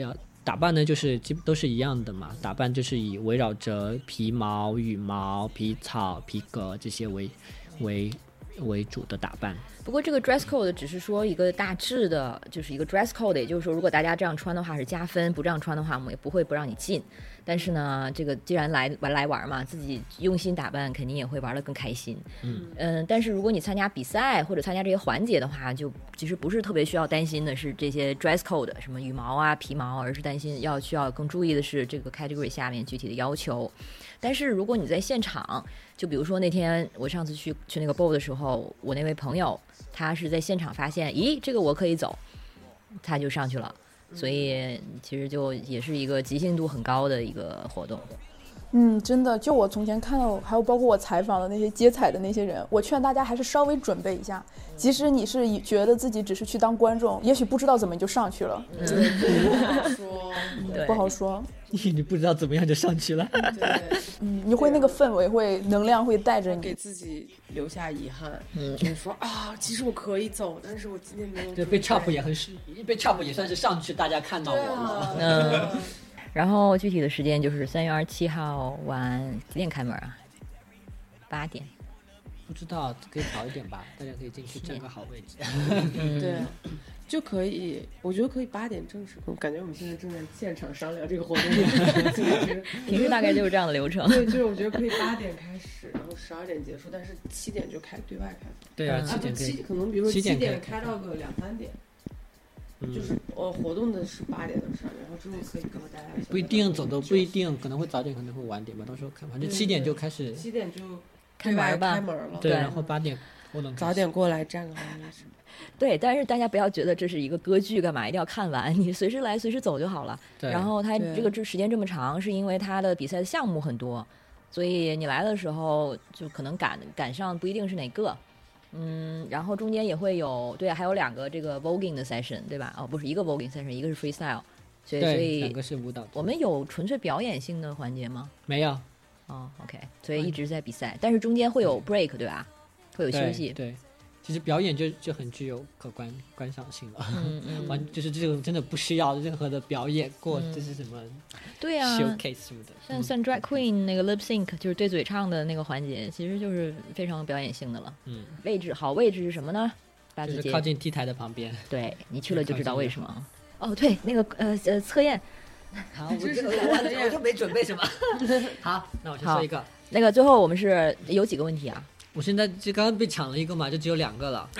打扮呢就是基都是一样的嘛，打扮就是以围绕着皮毛、羽毛、皮草、皮革这些为为为主的打扮。 不过这个 dress code 只是说一个大致的，就是一个 dress code， 也就是说如果大家这样穿的话是加分，不这样穿的话我们也不会不让你进。但是呢，这个既然来玩来玩嘛，自己用心打扮，肯定也会玩得更开心。嗯嗯、呃，但是如果你参加比赛或者参加这些环节的话，就其实不是特别需要担心的是这些 dress code 什么羽毛啊、皮毛，而是担心要需要更注意的是这个 category 下面具体的要求。但是如果你在现场，就比如说那天我上次去去那个 ball 的时候，我那位朋友他是在现场发现，咦，这个我可以走，他就上去了。所以其实就也是一个即兴度很高的一个活动。 嗯，真的，就我从前看到，还有包括我采访的那些接彩的那些人，我劝大家还是稍微准备一下。即使你是觉得自己只是去当观众，也许不知道怎么你就上去了。 嗯、不好说， 不好说。 你不知道怎么样就上去了。 对， 嗯，你会那个氛围会能量会带着你， 给自己留下遗憾。嗯，就是说啊，其实我可以走，但是我今天没有。 对，被 chop 也很是，被 chop 也算是上去，大家看到我了。 嗯。然后具体的时间就是三月二十七号晚几点开门啊？八点。 不知道，可以早一点吧，大家可以进去占个好位置。 嗯，对，就可以，我觉得可以八点正式。我感觉我们现在正在现场商量这个活动的组织。 平时大概就是这样的流程。 对，就是我觉得可以八点开始，然后十二点结束，但是七点就开对外开。 对啊，七点可以，可能比如说七点开到个两三点。 嗯、 就是呃，活动的是八点到十二点，然后之后可以跟大家不一定走的不一定，可能会早点，可能会晚点吧，到时候看，反正七点就开始， 七点就开门吧， 开门了， 对，然后八点活动早点过来站个好位置。 对，但是大家不要觉得这是一个歌剧，干嘛一定要看完？你随时来，随时走就好了。然后它这个时间这么长，是因为它的比赛的项目很多，所以你来的时候就可能赶赶上不一定是哪个。嗯，然后中间也会有，对，还有两个这个 voguing 的 session， 对吧？哦，不是一个 voguing session， 一个是 freestyle， 所以所以两个是舞蹈。 我们有纯粹表演性的环节吗？ 没有。 哦 ，OK， 所以一直在比赛，但是中间会有 break， 对吧？会有休息。 对。对，其实表演就就很具有可观观赏性了， 嗯嗯， 完就是这种真的不需要任何的表演过，这、嗯、是什么？ 对啊 ，showcase 什么的。 像像 drag queen 那个 lip sync， 就是对嘴唱的那个环节，其实就是非常表演性的了。 嗯， 位置好位置是什么呢？大就是靠近 T 台的旁边。 对，你去了就知道为什么。哦，对，那个呃呃测验。 好，我就我我就没准备什么。好，那我先说一个。 那个最后我们是有几个问题啊？ 我现在就刚刚被抢了一个嘛，就只有两个了。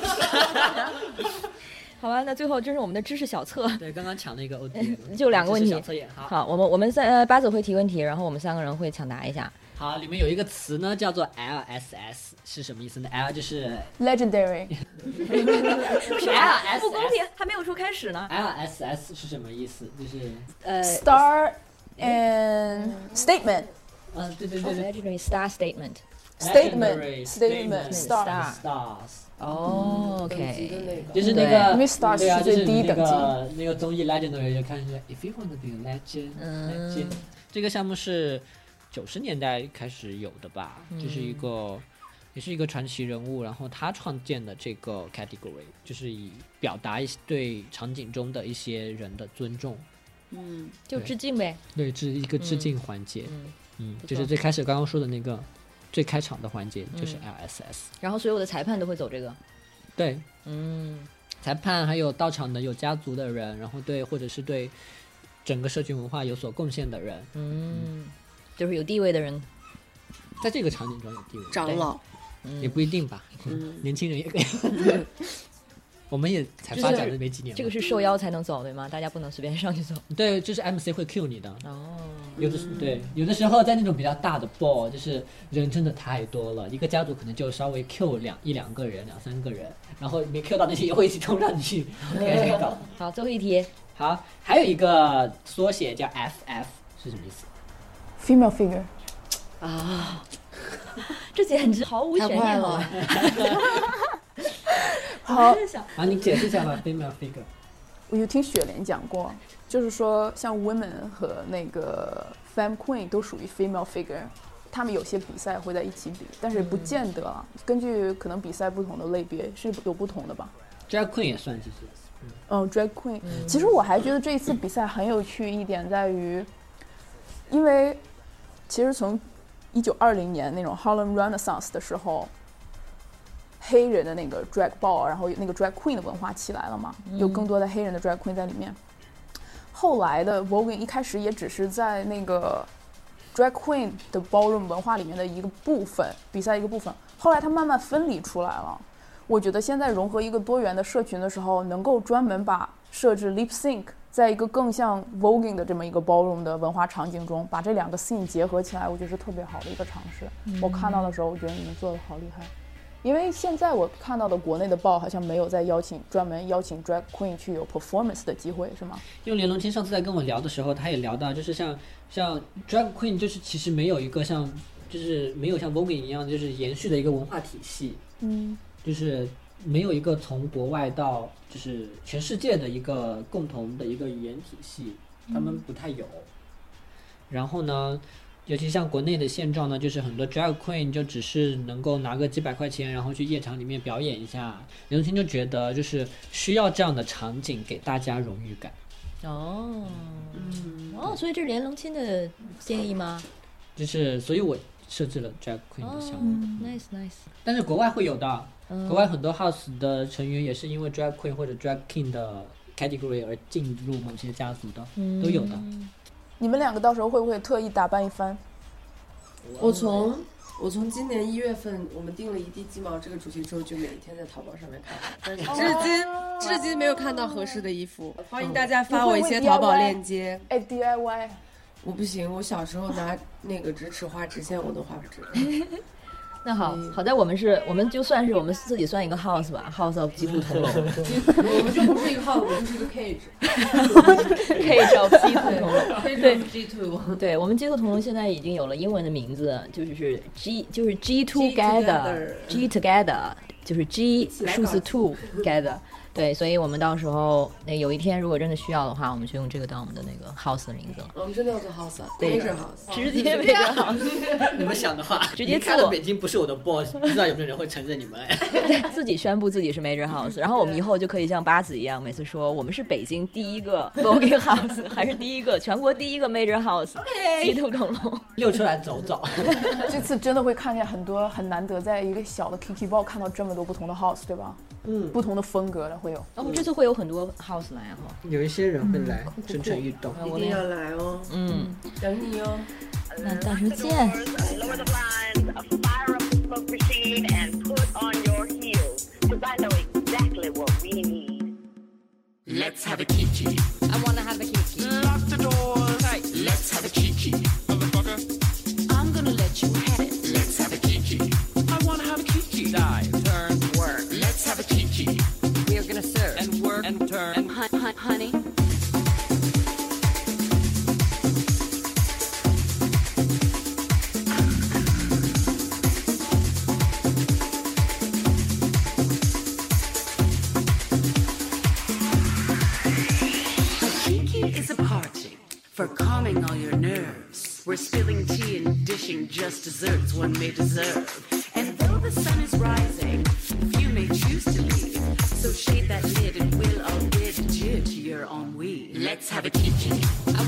好吧，那最后这是我们的知识小测。 对，刚刚抢了一个 O D， 就两个问题。 小测验。好， 好，我们我们三呃八组会提问题，然后我们三个人会抢答一下。 好，里面有一个词呢，叫做 L S S， 是什么意思呢 ？L 就是 legendary， 是 L S S， 不公平，还没有说开始呢。 L S S 是什么意思？就是呃 star and statement。 嗯，对对对对 ，legendary star statement。 statement statement star stars。 哦 ，OK， 就是那个， 因为 star 是最低等级。 那个综艺 legendary 就看出来 ，if you want to be a legend， legend。这个项目是九十年代开始有的吧， 嗯、 就是一个，也是一个传奇人物，然后他创建的这个 category， 就是以表达一对场景中的一些人的尊重， 嗯，就致敬呗， 对，是一个致敬环节， 嗯， 嗯，嗯就是最开始刚刚说的那个最开场的环节就是 L S S，、 嗯、然后所有的裁判都会走这个， 对， 嗯， 裁判还有到场的有家族的人，然后对或者是对整个社群文化有所贡献的人， 嗯。嗯就是有地位的人， 在这个场景中有地位， 长老、 嗯、也不一定吧，嗯、年轻人也可以。我们也才发展的没几年、 就是，这个是受邀才能走对吗？大家不能随便上去走。 对，就是 M C 会 cue 你的。 哦， 有的对，有的时候在那种比较大的 ball， 就是人真的太多了，一个家族可能就稍微 cue 两一两个人、两三个人，然后没 cue 到那些也会一起冲上去。 好，最后一题。 好，还有一个缩写叫 F F 是什么意思 ？Female figure 啊，这简直毫无悬念了。 好， 啊，你解释一下吧 ，female figure。 我有听雪莲讲过，就是说像 women 和那个 femme queen 都属于 female figure， 他们有些比赛会在一起比，但是不见得，嗯、根据可能比赛不同的类别是有不同的吧。 drag queen 也算，其实嗯 drag queen、嗯、其实我还觉得这一次比赛很有趣一点在于，因为其实从一九二零年那种 Harlem Renaissance 的时候，黑人的那个 drag ball 然后那个 drag queen 的文化起来了嘛，有更多的黑人的 drag queen 在里面。后来的 voguing 一开始也只是在那个 drag queen 的 ballroom 文化里面的一个部分，比赛一个部分，后来它慢慢分离出来了。我觉得现在融合一个多元的社群的时候，能够专门把设置 lip sync 在一个更像 voguing 的这么一个 ballroom 的文化场景中，把这两个 scene 结合起来，我觉得是特别好的一个尝试、嗯、我看到的时候我觉得你们做的好厉害。因为现在我看到的国内的报好像没有在邀请专门邀请 drag queen 去有 performance 的机会，是吗？ 因为连龙清上次在跟我聊的时候，他也聊到，就是像像 drag queen 就是其实没有一个像就是没有像 voguing 一样就是延续的一个文化体系，嗯，就是没有一个从国外到就是全世界的一个共同的一个语言体系，他们不太有。然后呢，尤其像国内的现状呢，就是很多 drag queen 就只是能够拿个几百块钱，然后去夜场里面表演一下。刘青就觉得就是需要这样的场景给大家荣誉感。 哦，嗯，哦，所以这是连龙清的建议吗？ 就是，所以我设置了 drag queen 的项目。 哦、nice nice。但是国外会有的，嗯、国外很多 house 的成员也是因为 drag queen 或者 drag king 的 category 而进入某些家族的，嗯、都有的。 你们两个到时候会不会特意打扮一番？ 我从我从今年一月份我们定了一地鸡毛这个主题之后，就每一天在淘宝上面看，但是至今、哦、至今没有看到合适的衣服。欢迎大家发我一些淘宝链接。 哎 ，D I Y， 我不行，我小时候拿那个直尺画直线我都画不直。 那好，好在我们是，我们就算是我们自己算一个 house 吧 ，house of 鸡兔同笼。 我们就不是一个 house， 我们就是一个 cage。 cage of 鸡兔同笼。 对 ，G two。 对，我们鸡兔同笼现在已经有了英文的名字，就是 G， 就是 G together，G together， 就是 G 数字 two together。对，所以我们到时候那有一天如果真的需要的话，我们就用这个当我们的那个 house 的名字了。 我们真的要做 house， 对 major house， 直接 major house。 你们想的话， 直接做。看到北京不是我的 boss， 不知道有没有人会承认你们？ 自己宣布自己是 major house， 然后我们以后就可以像八子一样，每次说我们是北京第一个 voguing house， 还是第一个全国第一个 major house， 鸡兔同笼， 溜出来走走。 这次真的会看见很多很难得，在一个小的 Kiki Ball 看到这么多不同的 house， 对吧？嗯，不同的风格的会有。 我们这次会有很多 house 来哈， 有一些人会来蠢蠢欲动， 一定要来哦。嗯，等你哦。 那到时候见。 Let's have a kiki. I wanna have a kiki. Lock the doors. Tight. Let's have a kiki. Motherfucker. I'm gonna let you have it. Let's have a kiki. I wanna have a kiki. Dive. Turn. Work. Let's have a kiki. We're gonna serve. And work. And turn. And hun- hun- honey. For calming all your nerves. We're spilling tea and dishing just desserts one may deserve. And though the sun is rising, few may choose to leave. So shade that lid and we'll all bid adieu to your ennui. Let's have a kiki. I